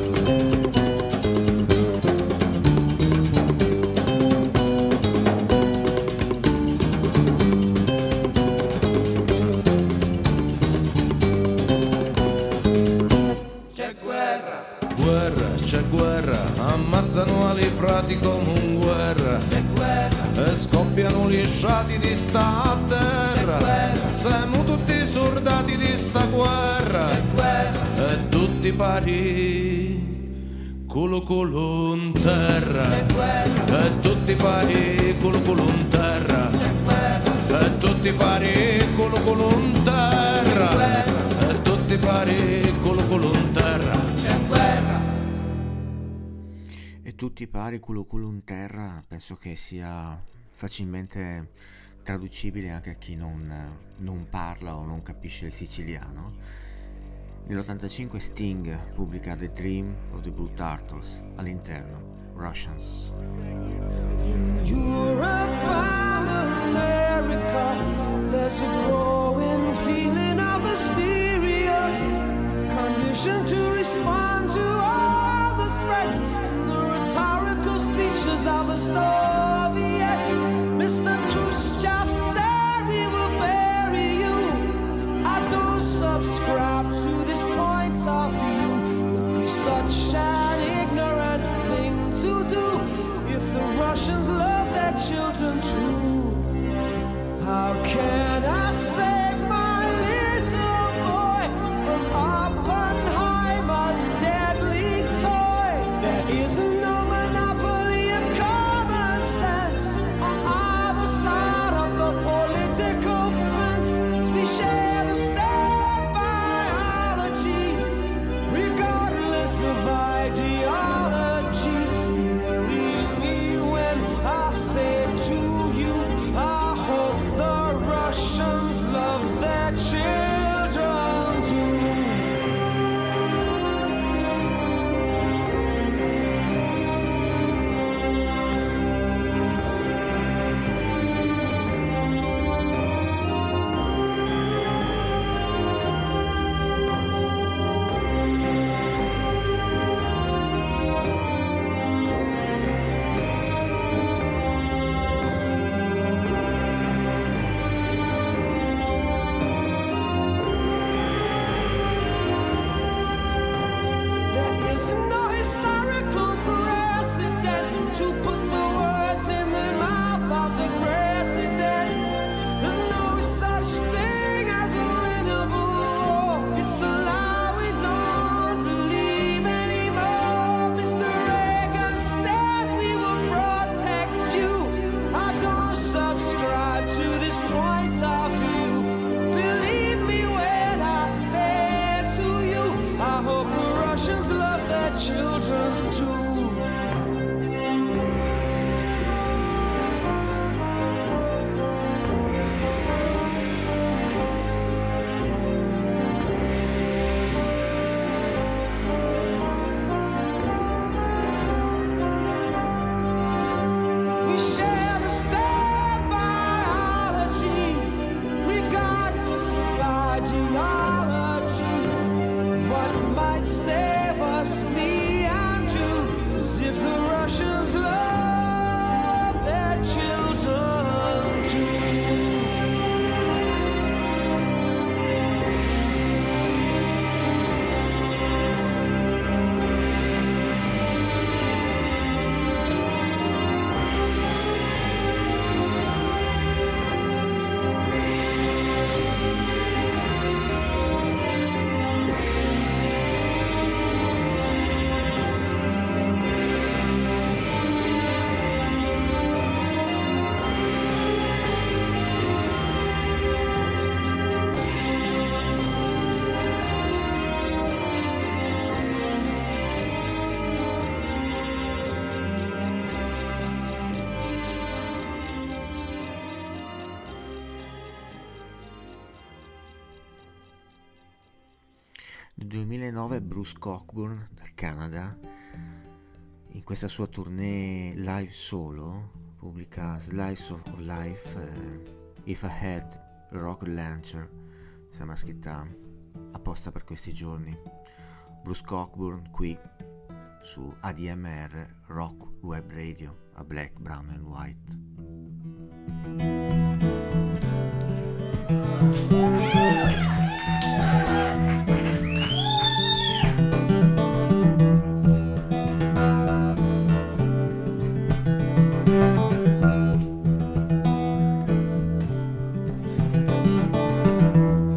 c'è guerra, Guerra, c'è guerra, ammazzano ali frati come un guerra. c'è guerra, E scoppiano lisciati di sta terra. guerra. Siamo tutti soldati di sta guerra. c'è guerra, E tutti pari culo culo in terra, e tutti pari culo culo in terra, e tutti pari culo culo in terra, e tutti pari culo culo in terra. E tutti pari culo culo in terra penso che sia facilmente traducibile anche a chi non, non parla o non capisce il siciliano. Nell'ottantacinque Sting pubblica The Dream of the Blue Turtles, all'interno Russians. In Europe and America, there's a growing feeling of hysteria, conditioned to respond to all the threats and the rhetorical speeches of the Soviets. Mister Khrushchev said we will bury you. I don't subscribe to this point of view. It would be such an ignorant thing to do if the Russians love their children too. How can I save my little boy from Oppenheimer's deadly toy? There is no monopoly of common sense on either side of the political fence. We share the same biology, regardless of ideology. Believe me when I say to you, I hope the Russians love their children too. There is no historical precedent to put the words in the mouth of the president. There's no such thing as a winnable war. It's a lie we don't believe anymore. Mister Reagan says we will protect you. I don't subscribe to this point of view. Believe me when I say to you, I hope the Russians love their children too. We share the same biology, regardless of ideology. What might save us, me and you, is if the Russians love their children too. Nel duemilanove Bruce Cockburn dal Canada, in questa sua tournée live solo, pubblica Slice of Life, eh, If I Had a Rocket Launcher, sembra scritta apposta per questi giorni. Bruce Cockburn qui su A D M R Rock Web Radio, a Black, Brown and White.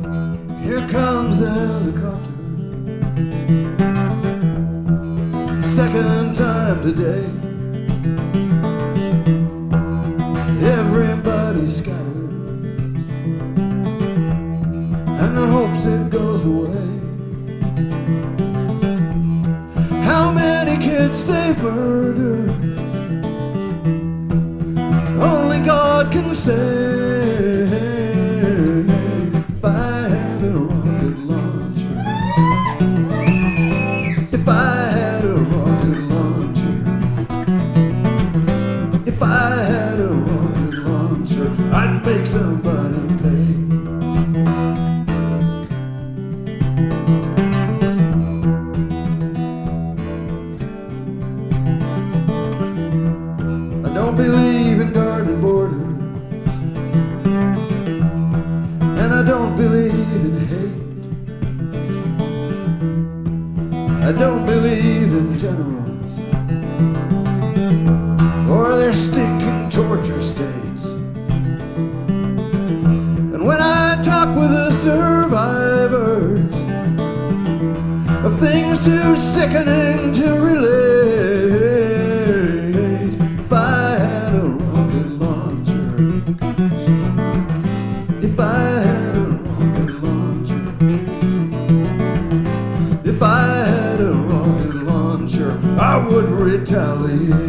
Here comes the helicopter, second time today. Everybody scatters and hopes it goes away. How many kids they've murdered, only God can say. If I had a rocket launcher, if I had a rocket launcher, if I had a rocket launcher, I'd make somebody pay. I don't believe in guarded borders, and I don't believe in hate. I don't believe in generals or their stinking torture states. And when I talk with the survivors of things too sickening to relate, if I had a rocket launcher, if I had a rocket launcher, if I had a rocket launcher, I would retaliate.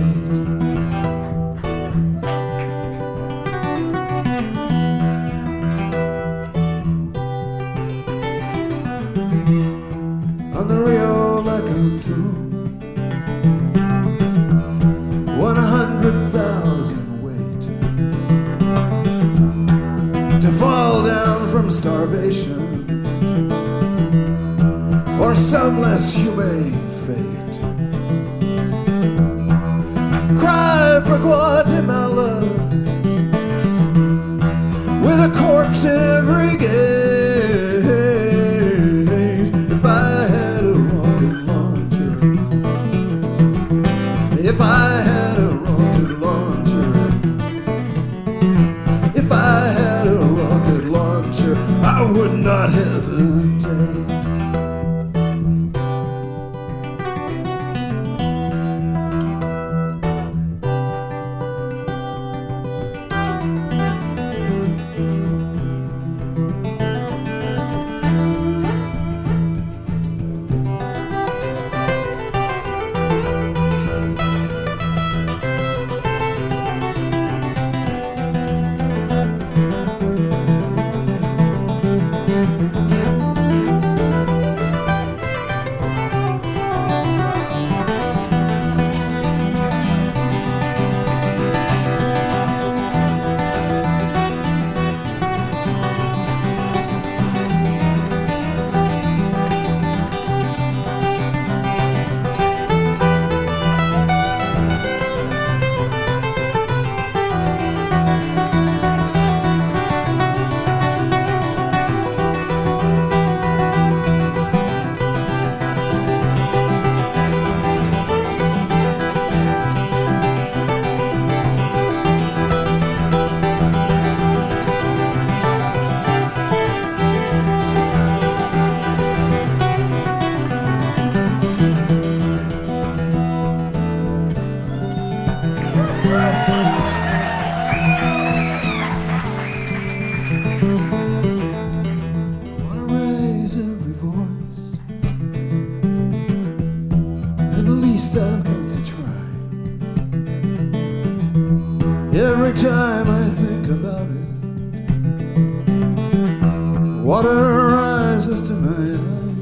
On the Rio Lecanto, one hundred thousand wait to fall down from starvation or some less humane fate. Cry for Guatemala with a corpse in every gate. If I had a rocket launcher, if I had a rocket launcher, if I had a rocket launcher, I would not hesitate. Every time I think about it, water rises to my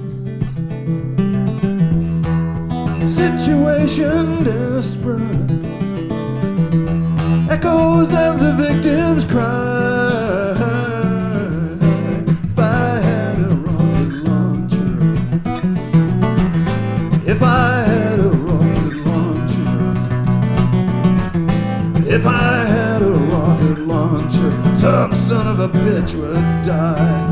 eyes. Situation desperate, echoes of the victim's cry. If I had a rocket launcher, if I had a rocket launcher, if I had a rocket launcher, some son of a bitch would die.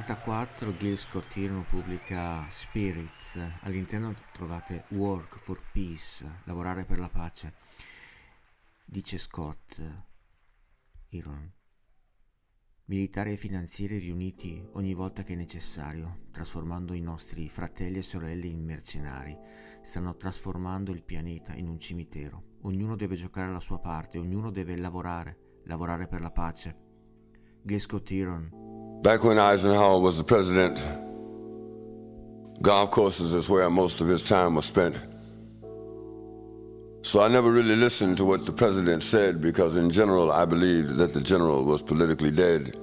novantaquattro Gil Scott-Heron pubblica Spirits, all'interno trovate Work for Peace, lavorare per la pace. Dice Scott-Heron: militari e finanzieri riuniti ogni volta che è necessario, trasformando i nostri fratelli e sorelle in mercenari, stanno trasformando il pianeta in un cimitero. Ognuno deve giocare la sua parte, ognuno deve lavorare, lavorare per la pace. Gil Scott-Heron. Back when Eisenhower was the president, golf courses is where most of his time was spent. So I never really listened to what the president said because in general I believed that the general was politically dead.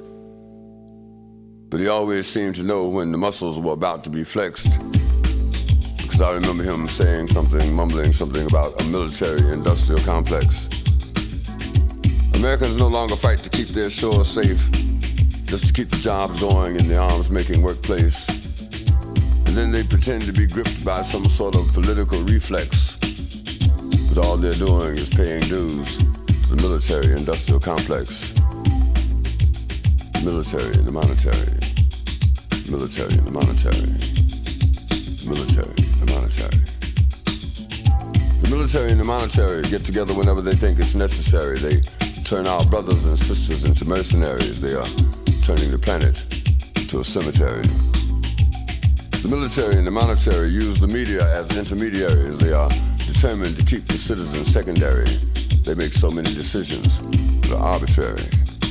But he always seemed to know when the muscles were about to be flexed, because I remember him saying something, mumbling something about a military-industrial complex. Americans no longer fight to keep their shores safe, just to keep the jobs going in the arms-making workplace. And then they pretend to be gripped by some sort of political reflex. But all they're doing is paying dues to the military-industrial complex. Military and the monetary. Military and the monetary. Military and the monetary. The military and the monetary get together whenever they think it's necessary. They turn our brothers and sisters into mercenaries. They are turning the planet into a cemetery. The military and the monetary use the media as intermediaries. They are determined to keep the citizens secondary. They make so many decisions that are arbitrary.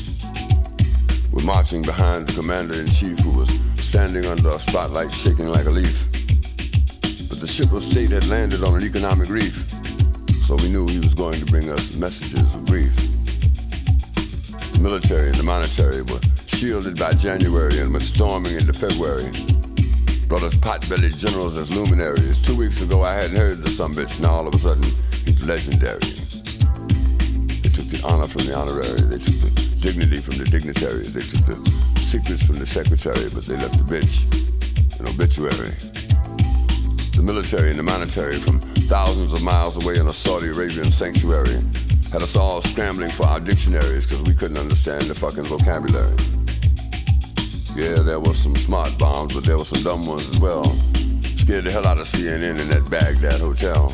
We're marching behind the commander-in-chief who was standing under a spotlight shaking like a leaf. But the ship of state had landed on an economic reef, so we knew he was going to bring us messages of grief. The military and the monetary were shielded by January and went storming into February. Brought us pot-bellied generals as luminaries. Two weeks ago I hadn't heard the sumbitch, now all of a sudden he's legendary. They took the honor from the honorary, they took the dignity from the dignitaries, they took the secrets from the secretary, but they left the bitch an obituary. The military and the monetary from thousands of miles away in a Saudi Arabian sanctuary had us all scrambling for our dictionaries because we couldn't understand the fucking vocabulary. Yeah, there was some smart bombs, but there were some dumb ones as well. Scared the hell out of C N N in that Baghdad hotel.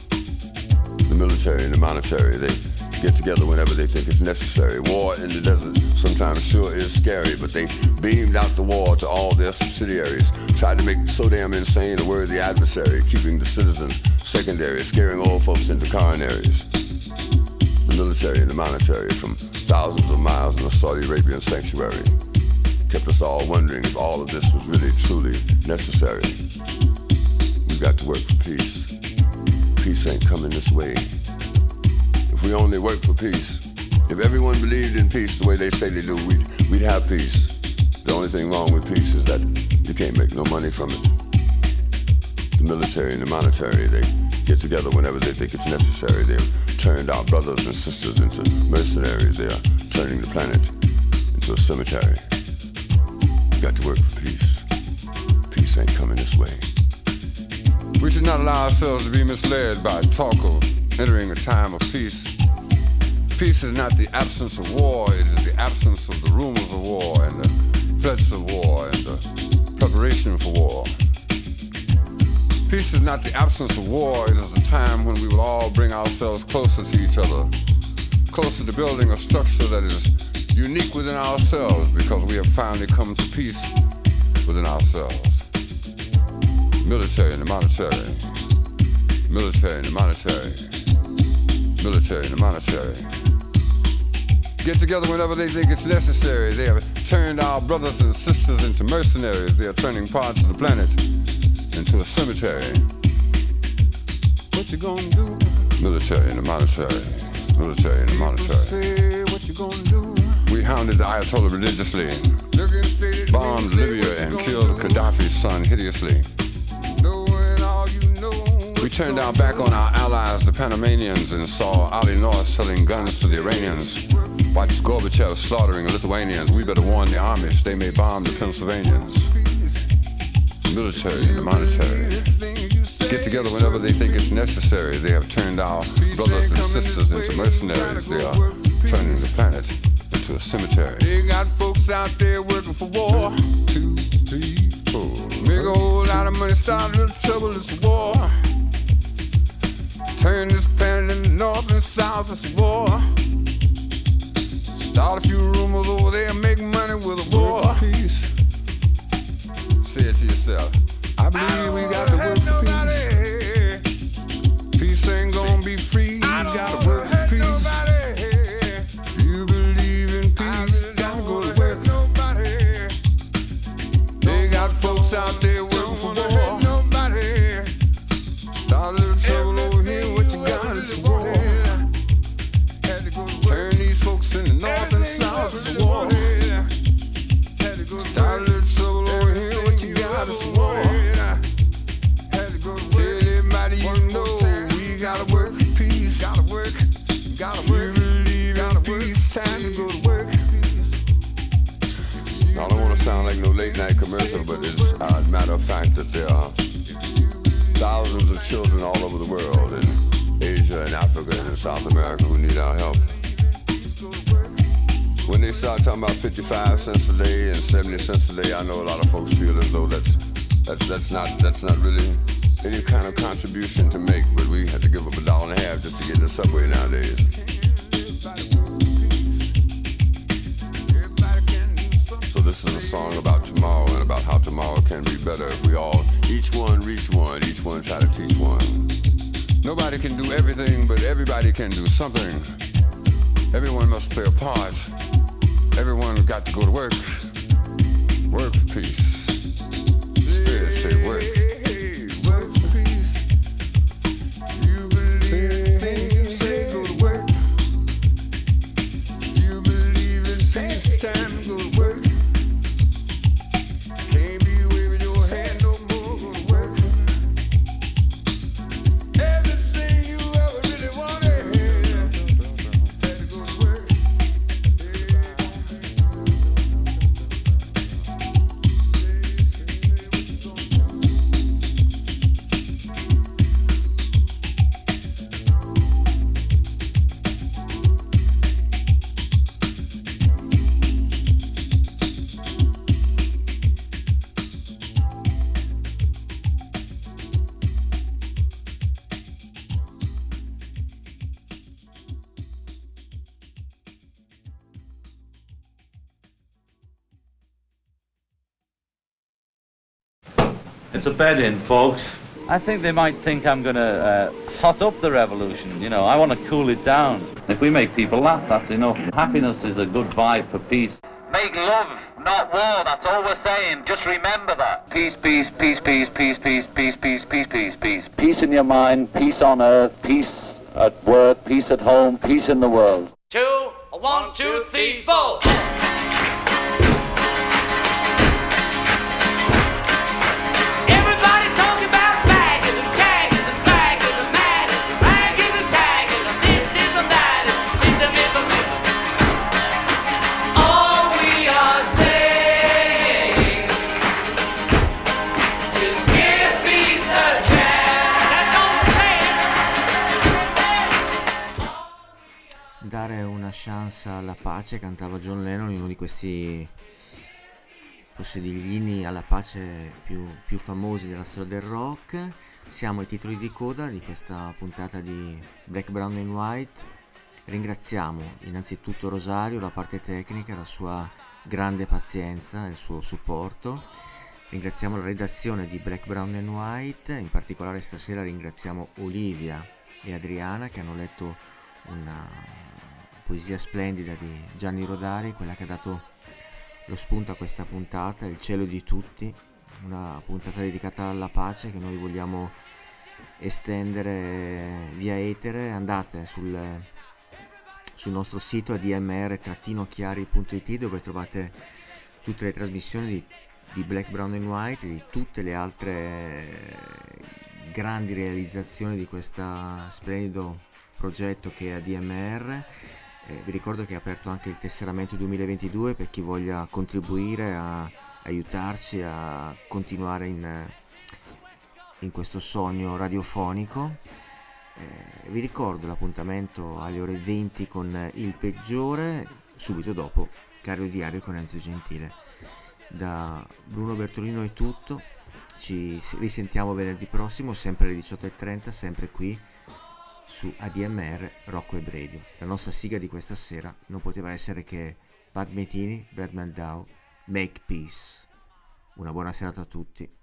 The military and the monetary, they get together whenever they think it's necessary. War in the desert sometimes sure is scary, but they beamed out the war to all their subsidiaries, tried to make so damn insane a worthy adversary, keeping the citizens secondary, scaring old folks into coronaries. The military and the monetary from thousands of miles in a Saudi Arabian sanctuary kept us all wondering if all of this was really, truly necessary. We've got to work for peace. Peace ain't coming this way. If we only work for peace, if everyone believed in peace the way they say they do, we'd, we'd have peace. The only thing wrong with peace is that you can't make no money from it. The military and the monetary, they get together whenever they think it's necessary. They've turned our brothers and sisters into mercenaries. They are turning the planet into a cemetery. Got to work for peace. Peace ain't coming this way. We should not allow ourselves to be misled by talk of entering a time of peace. Peace is not the absence of war, it is the absence of the rumors of war and the threats of war and the preparation for war. Peace is not the absence of war, it is the time when we will all bring ourselves closer to each other, closer to building a structure that is unique within ourselves because we have finally come to peace within ourselves. Military and the monetary. Military and the monetary. Military and the monetary. Get together whenever they think it's necessary. They have turned our brothers and sisters into mercenaries. They are turning parts of the planet into a cemetery. What you gonna do? Military and the monetary. Military and the monetary. What you gonna do? We hounded the Ayatollah religiously, bombed Libya and killed Gaddafi's son hideously. We turned our back on our allies, the Panamanians, and saw Ali North selling guns to the Iranians. Watched Gorbachev slaughtering Lithuanians. We better warn the Amish, they may bomb the Pennsylvanians. The military and the monetary get together whenever they think it's necessary. They have turned our brothers and sisters into mercenaries. They are turning the planet into a cemetery. They got folks out there working for war. Two got money, start a little trouble, it's a war. Turn this planet in the north and south, it's a war. Start a few rumors over there, make money with a war. Peace. Say it to yourself. I believe we got to work for peace. Peace ain't gonna be free, you gotta work for peace. You believe in peace, gotta go to work. They got folks out there working for war. Start a little trouble over here, what you got is war. Turn these folks in the north and south, it's war. Start a little trouble over here, what you got is war. Tell everybody you know we gotta work for peace. Gotta work, gotta work. You believe in peace, time to go to work. I don't want to sound like no late night commercial, but it's a matter of fact that there are thousands of children all over the world, in Asia and Africa and in South America, who need our help. When they start talking about fifty-five cents a day and seventy cents a day, I know a lot of folks feel as though that's that's that's not that's not really any kind of contribution to make, but we have to give up a dollar and a half just to get in the subway nowadays. So this is a song about tomorrow and about how tomorrow can be better if we all, each one reach one, each one try to teach one. Nobody can do everything, but everybody can do something. Everyone must play a part. Everyone got to go to work. Work for peace. Spirit say work. Work for peace. You believe in things, say go to work. You believe in peace, time to go to work. Can't be waving your hand no more, go to work. Everything you ever really wanted, had to go to work. It's a bed-in, folks. I think they might think I'm going to uh, hot up the revolution. You know, I want to cool it down. If we make people laugh, that's enough. Happiness is a good vibe for peace. Make love, not war, that's all we're saying. Just remember that. Peace, peace, peace, peace, peace, peace, peace, peace, peace, peace, peace. Peace in your mind, peace on earth, peace at work, peace at home, peace in the world. Two, one, two, three, four. Everybody's talking about baggers and taggers and slaggers and matters, raggers and taggers, and this is and that, and this and this and this. All we are saying is give peace a chance. That's all we're saying. Dare una chance alla pace, cantava John Lennon in uno di questi, forse degli inni alla pace più, più famosi della storia del rock. Siamo ai titoli di coda di questa puntata di Black, Brown and White. Ringraziamo innanzitutto Rosario, la parte tecnica, la sua grande pazienza e il suo supporto. Ringraziamo la redazione di Black, Brown and White, in particolare stasera ringraziamo Olivia e Adriana che hanno letto una poesia splendida di Gianni Rodari, quella che ha dato lo spunto a questa puntata, Il cielo di tutti, una puntata dedicata alla pace che noi vogliamo estendere via etere. Andate sul, sul nostro sito a d m r chiari punto i t dove trovate tutte le trasmissioni di, di Black, Brown and White e di tutte le altre grandi realizzazioni di questo splendido progetto che è A D M R. Eh, vi ricordo che è aperto anche il tesseramento duemilaventidue per chi voglia contribuire a aiutarci a continuare in, in questo sogno radiofonico. Eh, vi ricordo l'appuntamento alle ore venti con Il Peggiore, subito dopo Cario Diario con Enzo Gentile. Da Bruno Bertolino è tutto, ci risentiamo venerdì prossimo, sempre alle diciotto e trenta, sempre qui su A D M R Rock Web Radio. La nostra sigla di questa sera non poteva essere che Pat Metheny, Brad Mehldau, Make Peace. Una buona serata a tutti.